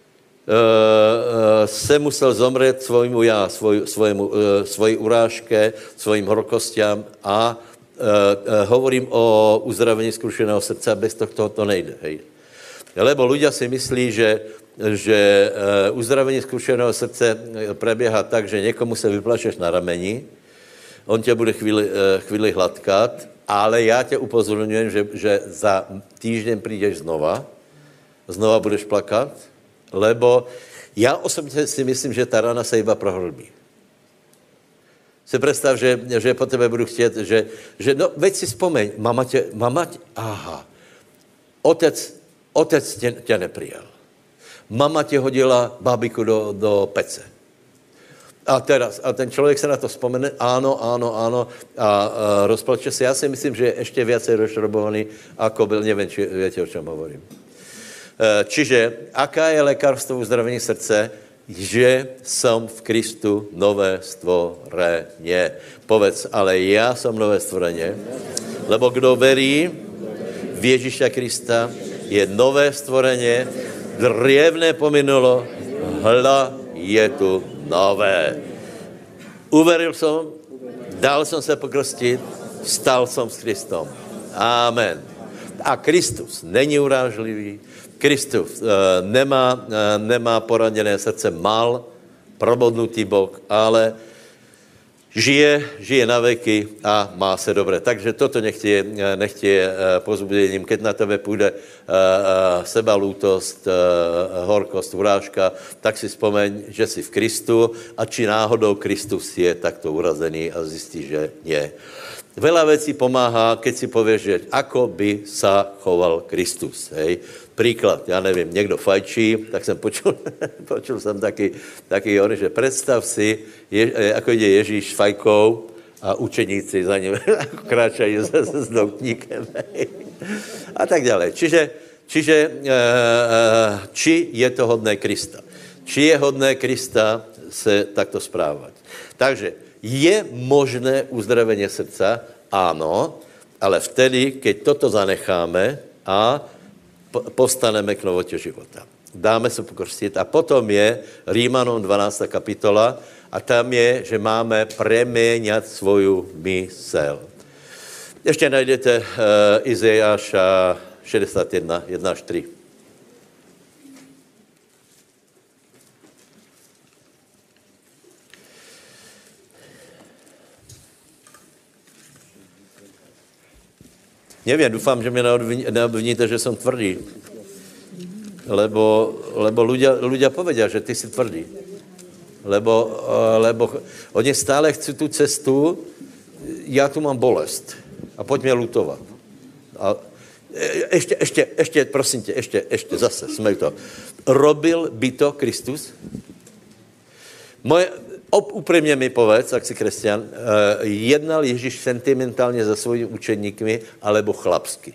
uh, se musel zomřet svojmu já, svoj, svojemu, uh, svojí urážke, svojim horkostiam a uh, uh, hovorím o uzdravení skrušeného srdce, bez toho to nejde. Hej. Lebo ľudia si myslí, že, že uh, uzdravení skrušeného srdce prebieha tak, že někomu se vyplašeš na rameni, on tě bude chvíli, uh, chvíli hladkat, ale já tě upozorňujem, že, že za týždeň přijdeš znova, znova budeš plakat, lebo já osobně si myslím, že ta rana se iba prohlbí. Si představ, že, že po tebe budu chtět, že, že no, veď si vzpomeň, mama tě, mama tě, aha, otec, otec tě, tě neprijal. Mama tě hodila bábiku do, do pece. A teraz, a ten člověk se na to vzpomene, áno, áno, áno, a, a rozplače se. Já si myslím, že je ještě viacej rozšrobovaný, ako byl, nevím, či viete, o čem hovorím. Čiže, aká je lékarstvo uzdravení srdce? Že som v Kristu nové stvorenie. Povedz, ale ja som nové stvorenie, lebo kdo verí v Ježíša Krista, je nové stvorenie, drievné pominulo, hla je tu nové. Uveril som, dal som se pokrstit, stal som s Kristom. Amen. A Kristus není urážlivý, Kristus uh, nemá, uh, nemá poraněné srdce, mal probodnutý bok, ale žije, žije na veky a má se dobré. Takže toto nech je, nech je uh, pozbudením, keď na tebe půjde uh, uh, sebalútost, uh, horkost, urážka, tak si vzpomeň, že jsi v Kristu a či náhodou Kristus je takto urazený a zjistí, že nie. Veľa vecí pomáhá, keď si povieš, že ako by sa choval Kristus. Hej. Príklad, ja neviem, niekto fajčí, tak som počul, počul som taký, taký že predstav si, je, ako ide Ježíš s fajkou a učeníci za ním kráčajú s, s doutníkem. A tak ďalej. Čiže, čiže či je to hodné Krista. Či je hodné Krista se takto správať. Takže je možné uzdravenie srdca? Áno, ale vtedy, keď toto zanecháme a postaneme k novote života. Dáme se pokrstit a potom je Rímanom dvanásta kapitola a tam je, že máme preměňat svoju mysel. Ještě najdete uh, Izajáša šedesát jedna, jedna až tri. Nevím, doufám, že mě neobviníte, že jsem tvrdý. Lebo, lebo ľudia, ľudia povedia, že ty si tvrdý. Lebo, lebo oni stále chcú tú cestu, ja tu mám bolest. A poď mě lutovat. A ešte, ešte, ešte, prosím tě, ešte, ešte, zase, jsme to. Robil by to Kristus? Moje, úprimně mi povedz, ak si kresťan, uh, jednal Ježíš sentimentálně za svojimi učeníkmi, alebo chlapsky.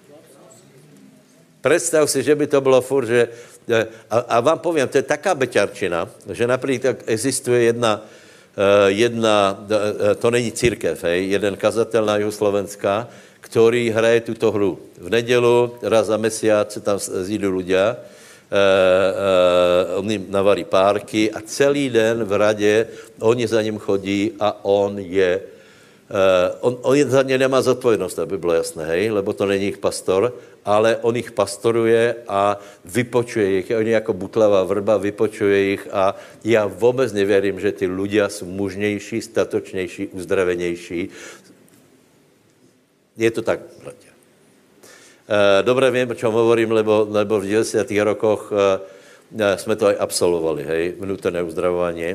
Predstav si, že by to bylo furt, že... Uh, a, a vám povím, to je taká beťarčina, že například existuje jedna, uh, jedna uh, to není církev, hej, jeden kazatel na jihu Slovenska, který hraje tuto hru. V nedělu, raz za mesiac se tam zjídu ľudia, Uh, uh, on jim navarí párky a celý den v radě oni za ním chodí a on je uh, on, on za ně nemá zodpovědnost, aby bylo jasné, hej, lebo to není jich pastor, ale on jich pastoruje a vypočuje jich. On je jako butlavá vrba, vypočuje jich a já vůbec nevěřím, že ty ľudia jsou mužnější, statočnější, uzdravenější. Je to tak, bratia. Dobre viem, o čom hovorím, lebo, lebo v deväťdesiatych rokoch jsme to aj absolvovali, hej, vnútorné uzdravovanie.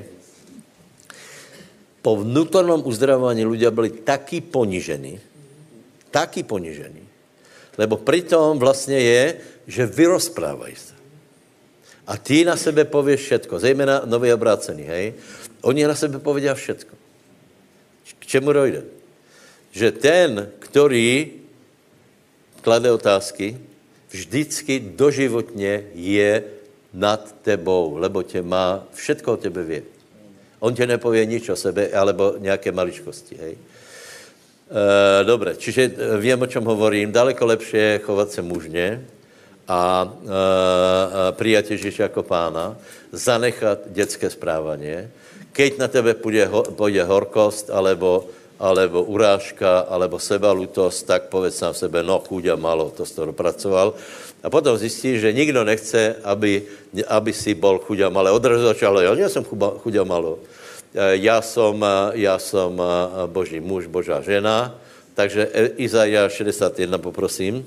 Po vnútornom uzdravovaní ľudia byli takí ponižení, takí ponižení, lebo pritom vlastne je, že vyrozprávají sa. A ty na sebe povieš všetko, zejména noví obrácení, hej, oni na sebe povedia všetko. K čemu dojde? Že ten, ktorý klade otázky, vždycky doživotne je nad tebou, lebo tě má, všetko o tebe vie. On tě nepovie nič o sebe, alebo nějaké maličkosti, hej. E, dobre, čiže viem, o čom hovorím. Daleko lepšie je chovat se mužně a e, prijať Ježíša jako pána, zanechat dětské správanie. Keď na tebe půjde, půjde horkost, alebo alebo urážka, alebo sebalutosť, tak povedz sám sebe, no chuďa malo, to si to dopracoval. A potom zistíš, že nikdo nechce, aby, aby si bol chuďa malé. Odrazu začalo, ja nie som chuďa malo. Ja som, ja som Boží muž, Božá žena. Takže Izaiáš šesťdesiatjeden, poprosím.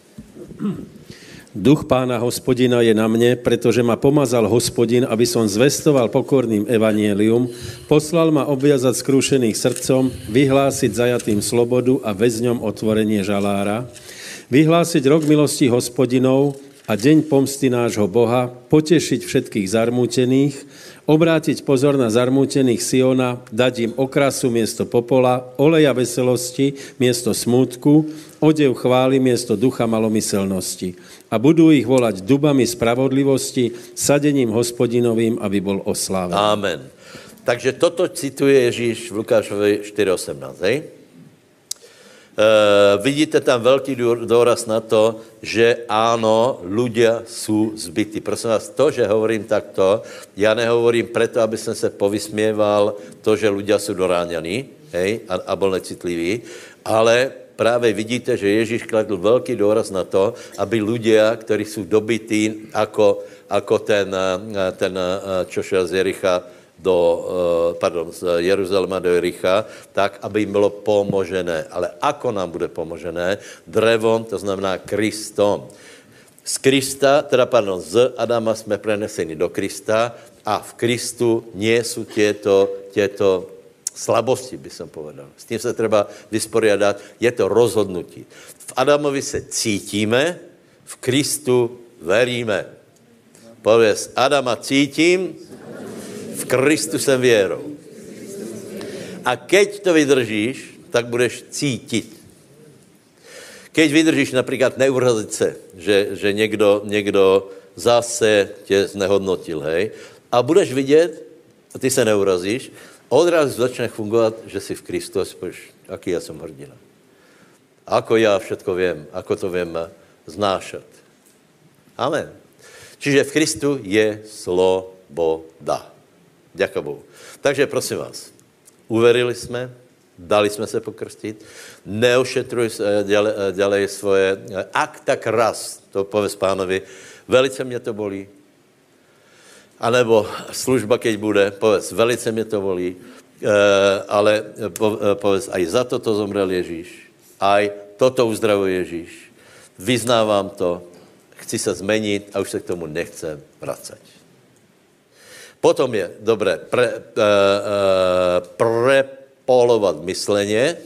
Duch Pána Hospodina je na mne, pretože ma pomazal Hospodin, aby som zvestoval pokorným evanielium, poslal ma obviazať skrúšených srdcom, vyhlásiť zajatým slobodu a väzňom otvorenie žalára, vyhlásiť rok milosti Hospodinov a deň pomsty nášho Boha, potešiť všetkých zarmútených, obrátiť pozor na zarmútených Siona, dať im okrasu miesto popola, oleja veselosti miesto smútku, odev chvály miesto ducha malomyselnosti. A budú ich volať dubami spravodlivosti, sadením Hospodinovým, aby bol oslávený. Amen. Takže toto cituje Ježíš v Lukášovi štyri osemnásť, hej? Uh, vidíte tam veľký dôraz na to, že áno, ľudia sú zbytí. Prosím vás, to, že hovorím takto, ja nehovorím preto, aby som sa povysmieval to, že ľudia sú doráňaní, hej, a, a bol necitliví, ale práve vidíte, že Ježíš kladl veľký dôraz na to, aby ľudia, ktorí sú dobití, ako, ako ten, ten, čo šel z Jericha do, pardon, z Jeruzalema do Jericha, tak, aby im bylo pomožené. Ale ako nám bude pomožené? Drevom, to znamená Kristom. Z Krista, teda pardon, z Adama jsme preneseni do Krista a v Kristu nie sú tieto, tieto slabosti, by som povedal. S tým sa treba vysporiadať. Je to rozhodnutí. V Adamovi se cítíme, v Kristu veríme. Povedz, Adama cítím, v Kristu jsem věrou. A keď to vydržíš, tak budeš cítit. Keď vydržíš napríklad neurazit se, že, že někdo, někdo zase tě znehodnotil, hej, a budeš vidět, a ty se neurazíš, odrazu začne fungovat, že si v Kristu a spíš, aký já jsem hrdina. Ako já všetko vím, ako to vím znášat. Amen. Čiže v Kristu je sloboda. Ďakujem Bohu. Takže prosím vás, uverili jsme, dali jsme se pokrstit, neošetruj ďalej, ďalej svoje, ak tak raz, to povedz pánovi, velice mě to bolí, anebo služba, keď bude, povedz, velice mě to bolí, ale povedz, aj za toto zomrel Ježíš, aj toto uzdravuje Ježíš, vyznávám to, chci se zmenit a už se k tomu nechcem vracať. Potom je dobré pre, uh, uh, prepolovat mysleně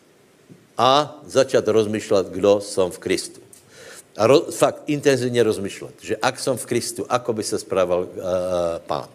a začat rozmýšlet, kdo jsem v Kristu. A ro, fakt intenzivně rozmýšlet, že ak jsem v Kristu, ako by se správal uh, pán.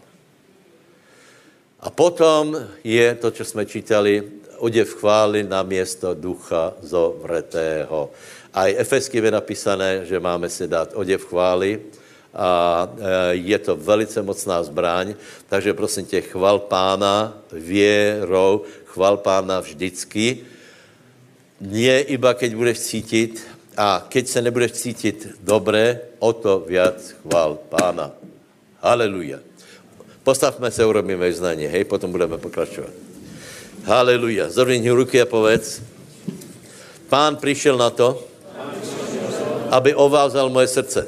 A potom je to, co jsme čítali, oděv chvály na město ducha zovretého. A i Efeským je napísané, že máme si dát oděv chvály, a je to velice mocná zbraň, takže prosím tě, chval pána věrou, chval pána vždycky, nie iba keď budeš cítit, a keď se nebudeš cítit dobré, o to viac chval pána. Haleluja. Postavme se, urobíme vyznání, hej, potom budeme pokračovat. Haleluja. Zrovni ruky a povedz. Pán prišiel na to, aby ovázal moje srdce.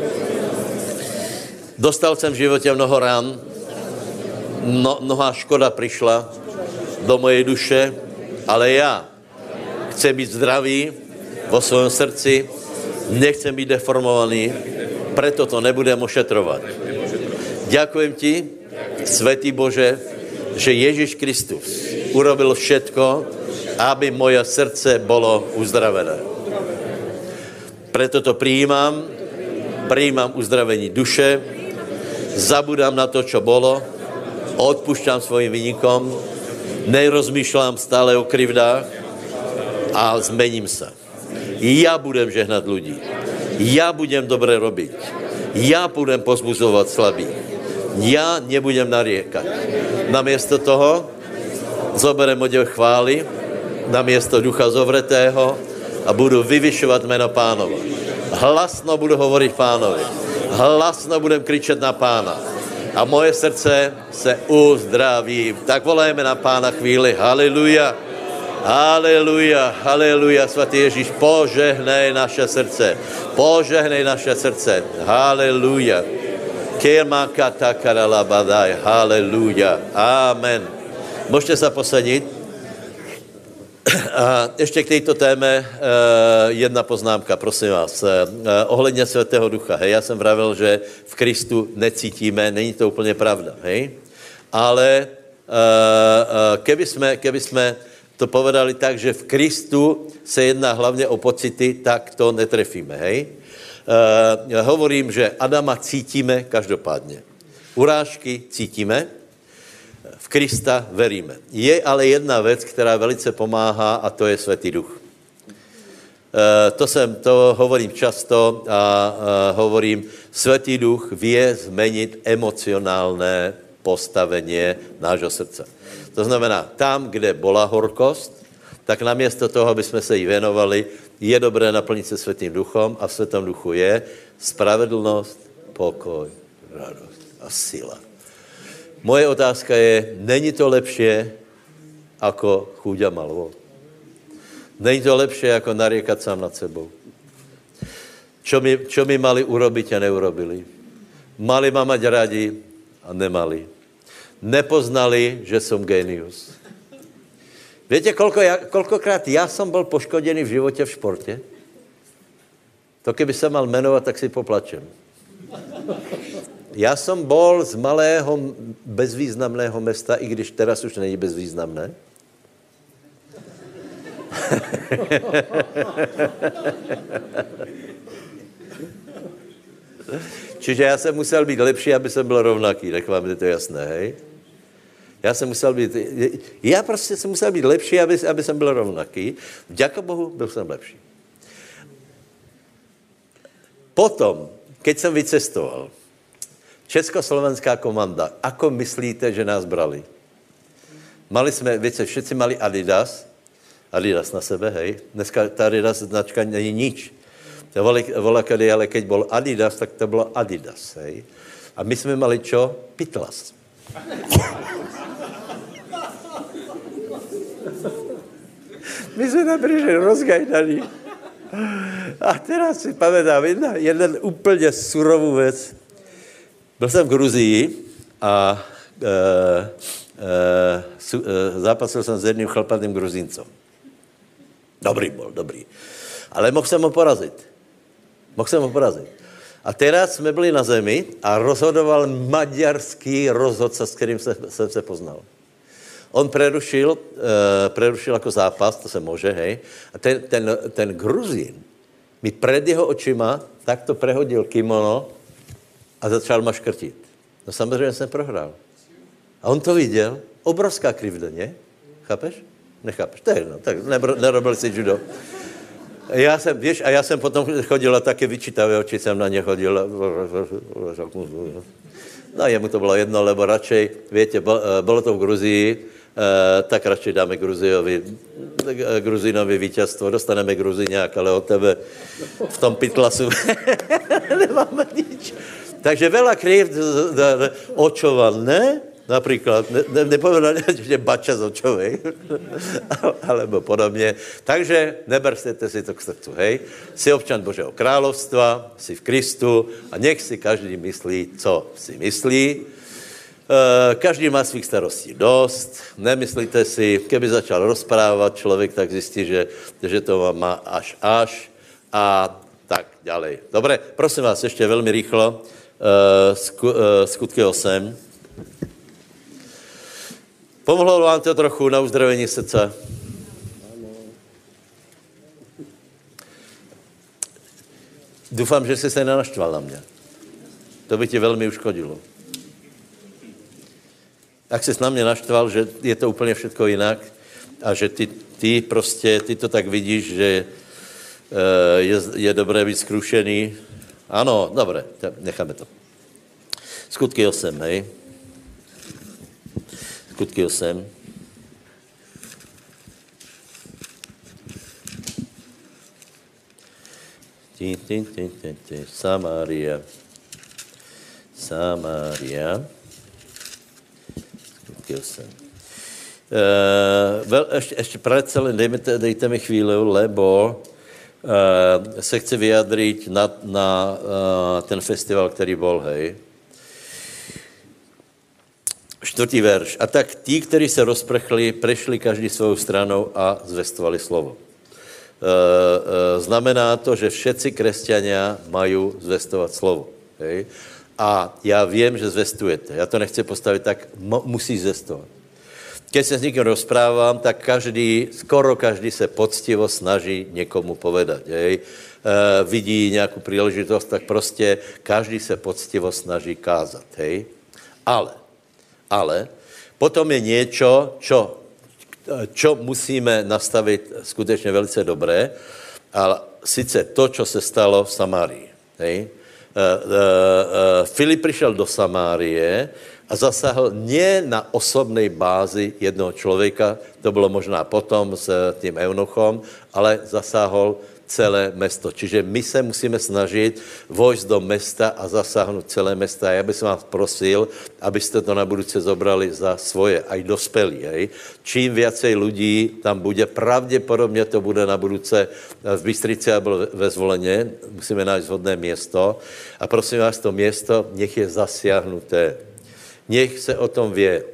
Dostal jsem v životě mnoho rán, no, mnohá škoda přišla do mojej duše, ale já chci být zdravý vo svém srdci, nechcem být deformovaný, preto to nebudem ošetrovat. Ďakujem ti, Svätý Bože, že Ježíš Kristus urobil všetko, aby moje srdce bylo uzdravené. Preto to prijímam, prijímam uzdravení duše, zabudám na to, čo bolo, odpúšťam svojim vynikom, nerozmýšľam stále o krivdách a zmením sa. Ja budem žehnať ľudí. Ja budem dobre robiť. Ja budem pozbuzovať slabých. Ja nebudem nariekať. Namiesto toho zoberem odev chvály, namiesto ducha zovretého a budu vyvyšovať meno Pánova. Hlasno budu hovoriť Pánovi. Hlasno budem kričet na Pána. A moje srdce se uzdraví. Tak volajme na Pána chvíli. Haleluja. Haleluja. Haleluja. Svatý Ježíš, požehnej naše srdce. Požehnej naše srdce. Haleluja. Haleluja. Amen. Môžete sa posadiť. A ještě k této téme uh, jedna poznámka, prosím vás. Uh, ohledně Svätého Ducha. Hej, já jsem vravil, že v Kristu necítíme, není to úplně pravda. Hej? Ale uh, uh, keby, jsme, keby jsme to povedali tak, že v Kristu se jedná hlavně o pocity, tak to netrefíme. Hej? Uh, hovorím, že Adama cítíme každopádně. Urážky cítíme, v Krista veríme. Je ale jedna věc, která velice pomáhá, a to je Svätý Duch. E, to, jsem, to hovorím často a e, hovorím, Svätý Duch vie zmenit emocionálné postavenie nášho srdca. To znamená, tam, kde bola horkost, tak namiesto toho, aby jsme se jí věnovali, je dobré naplnit se Svätým Duchom a v Svätém Duchu je spravedlnost, pokoj, radost a sila. Moje otázka je, není to lepší ako chúďa malvo? Není to lepší ako nariekat sám nad sebou? Čo mi, čo mi mali urobiť a neurobili? Mali ma mať radi a nemali. Nepoznali, že som génius. Viete, koľko ja, koľkokrát ja som bol poškodený v živote v športe? To keby sa mal menovať, tak si poplačem. Já jsem bol z malého bezvýznamného mesta, i když teraz už není bezvýznamné. Čiže já jsem musel být lepší, aby jsem byl rovnaký, tak vám je to jasné, hej? Já jsem musel být, já prostě jsem musel být lepší, aby, aby jsem byl rovnaký. Vďaka Bohu, byl jsem lepší. Potom, keď jsem vycestoval, Československá komanda, ako myslíte, že nás brali? Mali jsme, víte, všetci mali Adidas, Adidas na sebe, hej. Dneska ta Adidas značka není nič. To volá, kedy, ale keď bol Adidas, tak to bylo Adidas, hej. A my jsme mali čo? Pitlas. My jsme tam přišli rozgajdaní. A teraz si pamätám jedna, jeden úplně surovou věc. Byl jsem v Gruzii a e, e, su, e, zápasil jsem s jedným chlpatým Gruzíncom. Dobrý bol, dobrý. Ale mohl jsem ho porazit. Mohl jsem ho porazit. A teraz jsme byli na zemi a rozhodoval maďarský rozhodca, s kterým se, jsem se poznal. On prerušil, e, prerušil jako zápas, to se může, hej. A ten, ten, ten Gruzín mi před jeho očima takto prehodil kimono a začal maškrtit. No samozřejmě jsem prohrál. A on to viděl. Obrovská krivda, ne? Chápeš? Nechápeš? To je jedno. Tak nerobil si judo. Já jsem, víš, a já jsem potom chodil a taky vyčítavé oči jsem na ně chodil. No jemu to bylo jedno, lebo radšej, víte, bylo to v Gruzii, tak radšej dáme Gruziovi, Gruzínovi víťazstvo, dostaneme Gruzíňák, ale od tebe v tom pitlasu nemáme nič. Takže veľa krivd očoval, ne? Napríklad, ne, ne, nepovedal, že bača z očovej, alebo podobne. Takže nebersete si to k srdcu, hej. Si občan Božieho kráľovstva, si v Kristu a nech si každý myslí, co si myslí. E, každý má svých starostí dosť. Nemyslíte si, keby začal rozprávať človek, tak zistí, že, že to má až až a tak ďalej. Dobre, prosím vás, ešte veľmi rýchlo. E, sku, e, skutky osem. Pomohlo vám to trochu na uzdravení srdca? Dúfam, že si sa nenaštval na mňa. To by ti veľmi uškodilo. Ak si na mňa naštval, že je to úplne všetko inak a že ty, ty proste, ty to tak vidíš, že je, je dobré byť skrušený. Áno, dobre, necháme to. Skutky osem, hej. Skutky osem. Tí, tí, tí, tí, tí. Samária. Samária. Skutky osem. Uh, well, ešte, ešte predsa len dejme, dejte mi chvíľu, lebo uh, sa chce vyjadriť na, na uh, ten festival, ktorý bol, hej. Štvrtý verš. A tak tí, ktorí sa rozprchli, prešli každý svojou stranou a zvestovali slovo. E, e, znamená to, že všetci kresťania majú zvestovať slovo. Hej? A ja viem, že zvestujete. Ja to nechci postaviť tak, m- musí zvestovať. Keď sa s niekým rozprávam, tak každý, skoro každý sa poctivo snaží niekomu povedať. Hej? E, vidí nejakú príležitosť, tak proste každý sa poctivo snaží kázať. Hej? Ale Ale potom je niečo, čo, čo musíme nastaviť skutečne velice dobré, ale sice to, čo se stalo v Samárii. Hej? E, e, e, Filip prišiel do Samárie a zasáhl nie na osobnej bázi jednoho človeka, to bylo možná potom s tým eunuchom, ale zasáhol celé mesto. Čiže my se musíme snažit vojsť do mesta a zasáhnout celé mesta. Já bych vás prosil, abyste to na budúce zobrali za svoje, aj dospelí. Hej. Čím viacej ľudí tam bude, pravděpodobně to bude na budúce v Bystrici a bylo ve Zvoleně. Musíme nájsť vhodné město. A prosím vás, to město nech je zasiahnuté. Nech se o tom vie. Uh,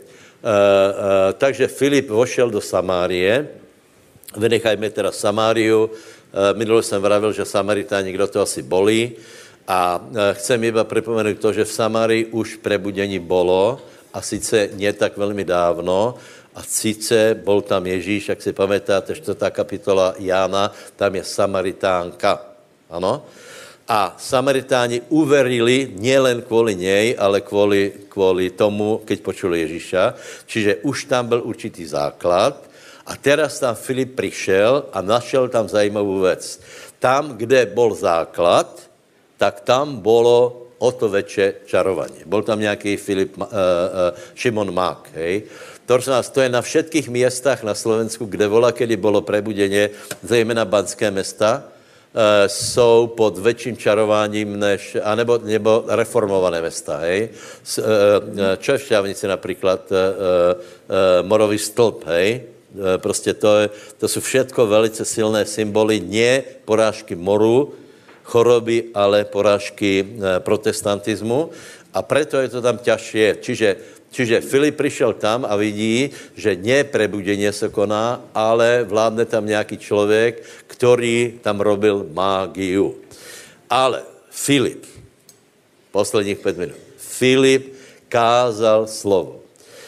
uh, takže Filip vošel do Samárie. Vynechajme teda Samáriu. Minule jsem vravil, že Samaritáni, kdo to asi bolí. A chcem iba pripomenúť to, že v Samárii už prebudení bolo, a sice nie tak veľmi dávno, a sice bol tam Ježíš, ak si pamätáte, štvrtá kapitola Jána, tam je Samaritánka. Ano? A Samaritáni uverili nielen kvôli nej, ale kvôli, kvôli tomu, keď počuli Ježíša. Čiže už tam byl určitý základ. A teraz tam Filip prišiel a našel tam zajímavú vec. Tam, kde bol základ, tak tam bolo o to väčšie čarovanie. Bol tam nejaký Filip, uh, uh, Šimon Mák, hej. To je na všetkých miestach na Slovensku, kde vola, kedy bolo prebudenie, zejména banské mesta, uh, jsou pod väčším čarováním než, anebo nebo reformované mesta, hej. S, uh, čo je v Šťavnici napríklad? Uh, uh, Morový stĺp, hej. Prostě to, je, to jsou všetko velice silné symboly, nie porážky moru, choroby, ale porážky protestantizmu. A preto je to tam ťažšie. Čiže, čiže Filip prišiel tam a vidí, že nie prebudenie sa koná, ale vládne tam nejaký človek, ktorý tam robil mágiu. Ale Filip, posledních päť minút, Filip kázal slovo.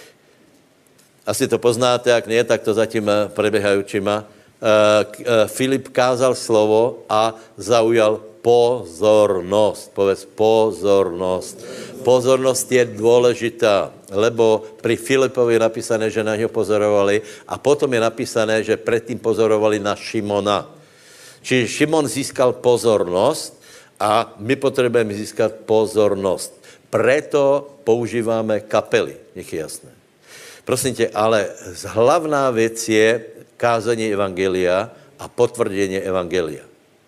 Asi to poznáte, ak nie, tak to zatím prebiehajúčima. Filip kázal slovo a zaujal pozornosť. Povedz pozornosť. Pozornosť je dôležitá, lebo pri Filipovi je napísané, že na ňo pozorovali a potom je napísané, že predtým pozorovali na Šimona. Čiže Šimon získal pozornosť a my potrebujeme získať pozornosť. Preto používame kapely, nech je jasné. Prosím tě, ale hlavná věc je kázanie evangelia a potvrdenie evangelia.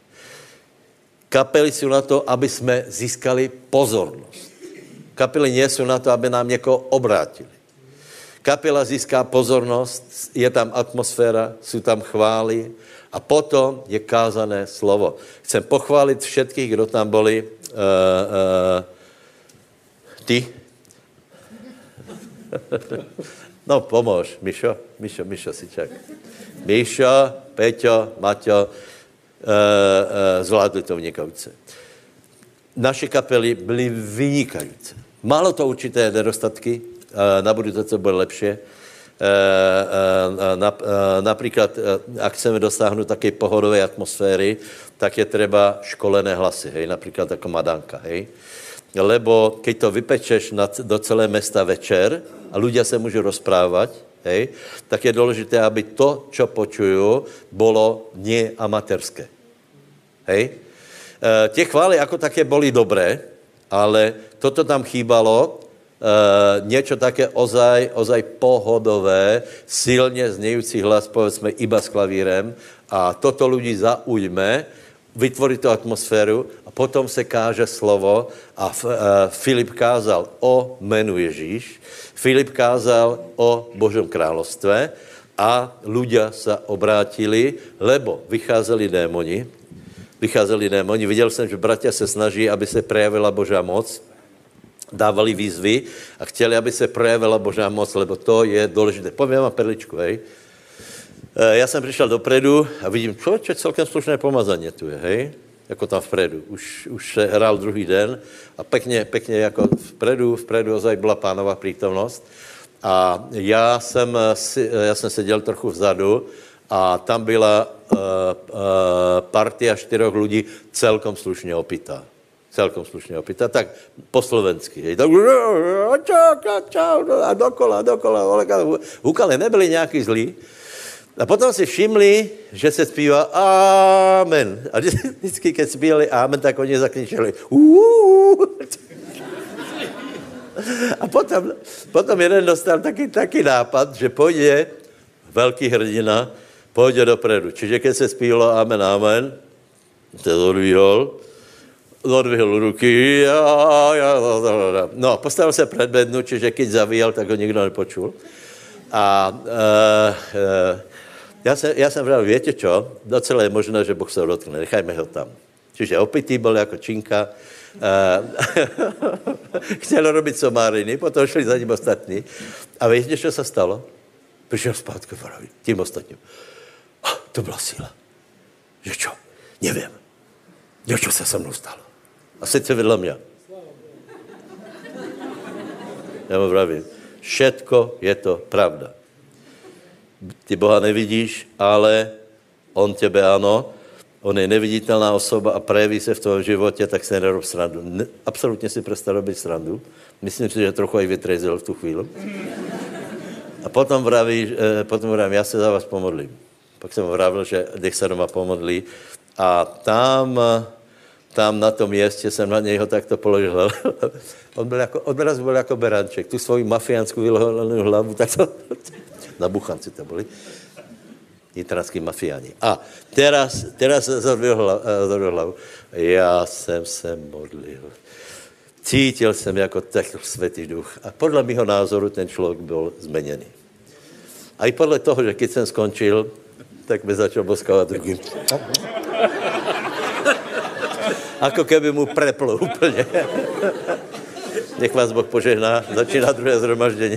Kapely sú na to, aby sme získali pozornosť. Kapely nie sú na to, aby nám niekoho obrátili. Kapela získá pozornost, je tam atmosféra, jsou tam chvály a potom je kázané slovo. Chcem pochválit všetkých, kdo tam boli. Uh, uh, ty? No, pomôž, Mišo, Mišo, Mišo si čak. Mišo, Peťo, Maťo, uh, uh, zvládli to vynikajúce. Naše kapely byly vynikajúce. Málo to určité nedostatky, uh, na budúce to bude lepšie. Uh, uh, uh, napríklad, uh, ak chceme dosáhnuť takej pohodovej atmosféry, tak je treba školené hlasy, hej, napríklad ako Madanka, hej. Lebo keď to vypečeš na, do celé mesta večer a ľudia sa môžu rozprávať, hej, tak je dôležité, aby to, čo počujú, bolo nie amatérske. Hej. E, tie chvály ako také boli dobré, ale toto tam chýbalo, e, niečo také ozaj, ozaj pohodové, silne znejúci hlas, povedzme, iba s klavírem a toto ľudí zaujme, vytvorí to atmosféru a potom se káže slovo a uh, Filip kázal o menu Ježíš, Filip kázal o Božom kráľovstve a ľudia sa obrátili, lebo vycházeli démoni, vycházeli démoni, viděl jsem, že bratia se snaží, aby se prejavila Božá moc, dávali výzvy a chtěli, aby se prejavila Božá moc, lebo to je důležité. Poviem vám perličku, hej. Ja som prišiel dopredu a vidím, človeče, celkem slušné pomazanie tu je, hej? Jako tam vpredu. Už, už se hrál druhý den a pekne, pekne jako vpredu, vpredu ozaj byla pánová prítomnosť. A já jsem, já jsem seděl trochu vzadu a tam byla uh, uh, partia štyroch ľudí celkom slušne opitá. Celkom slušne opitá. Tak po slovensky, hej? Tak a dokola, dokola. Húkale nebyli nejaký zlí. A potom si všimli, že se zpívá Amen. A vždycky, keď zpívali Amen, tak oni zakričeli A potom, potom jeden dostal taký, taký nápad, že pôjde veľký hrdina, pôjde dopredu. Čiže keď se zpívalo Amen, Amen, to odvihol, odvihol ruky, ja, ja, no, postavil sa pred bednu, čiže keď zavíjal, tak ho nikto nepočul. A uh, uh, Ja som, ja som vravil, viete čo, docela je možné, že Boh sa dotkne, nechajme ho tam. Čiže opitý bol ako činka, chcel robiť somáriny, potom šli za ním ostatní. A viete, čo sa stalo? Prišiel spátko, vraví, tým ostatním. Oh, to byla síla. Že čo? Neviem. Niečo sa so mnou stalo. A sice vedľa mňa. Ja mu vravím, všetko je to pravda. Ty Boha nevidíš, ale on tebe ano, on je neviditelná osoba a prejaví se v tvojom životě, tak se nerob srandu. Ne, absolutně si prestal robiť srandu. Myslím si, že trochu aj vytrezil v tu chvíli. A potom vraví, eh, potom vravím, já se za vás pomodlím. Pak jsem vravil, že nech se doma pomodlí. A tam, tam na tom mieste jsem na něho takto položil. On byl jako, odraz byl jako beranček. Tu svoji mafiánskou vyloženou hlavu, tak to... Na Buchanci to boli. Nitranskí mafiáni. A teraz, teraz zodvihol hlavu. Já jsem se modlil. Cítil jsem jako taký svätý duch. A podle mýho názoru ten člověk byl zmeněný. A i podle toho, že keď jsem skončil, tak by začal boskávat druhým. Ako keby mu preplo úplně. Nech vás Boh požehná. Začíná druhé zhromaždenie.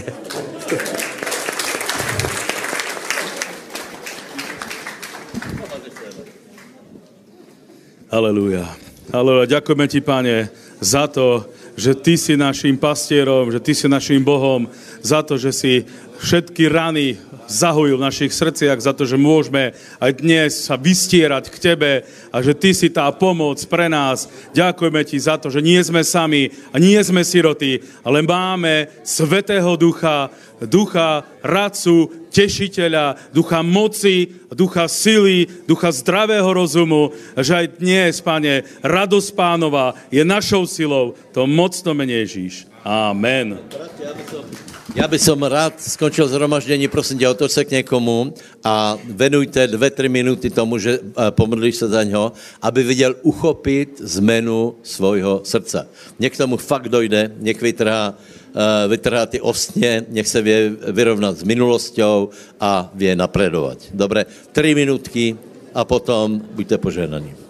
Halelúja. Halelúja. Ďakujeme ti, Pane, za to, že ty si naším pastierom, že ty si naším Bohom, za to, že si všetky rany zahojil v našich srdciach, za to, že môžeme aj dnes sa vystierať k tebe a že ty si tá pomoc pre nás. Ďakujeme ti za to, že nie sme sami a nie sme siroty, ale máme Svätého Ducha, Ducha radcu, tešiteľa, ducha moci, ducha sily, ducha zdravého rozumu, že aj dnes, Pane, radosť Pánova je našou silou. To mocno mene Ježíš. Amen. Ja by som rád skončil zhromaždenie, prosím ťa, otoč sa k niekomu a venujte dve tri minúty tomu, že pomodlíš sa za ňo, aby vedel uchopiť zmenu svojho srdca. Nech tomu fakt dojde, nech vytrhá vytrhá ty ostně, nech se vie vyrovnat s minulosťou a vie napredovať. Dobre, tri minútky a potom buďte požehnaní.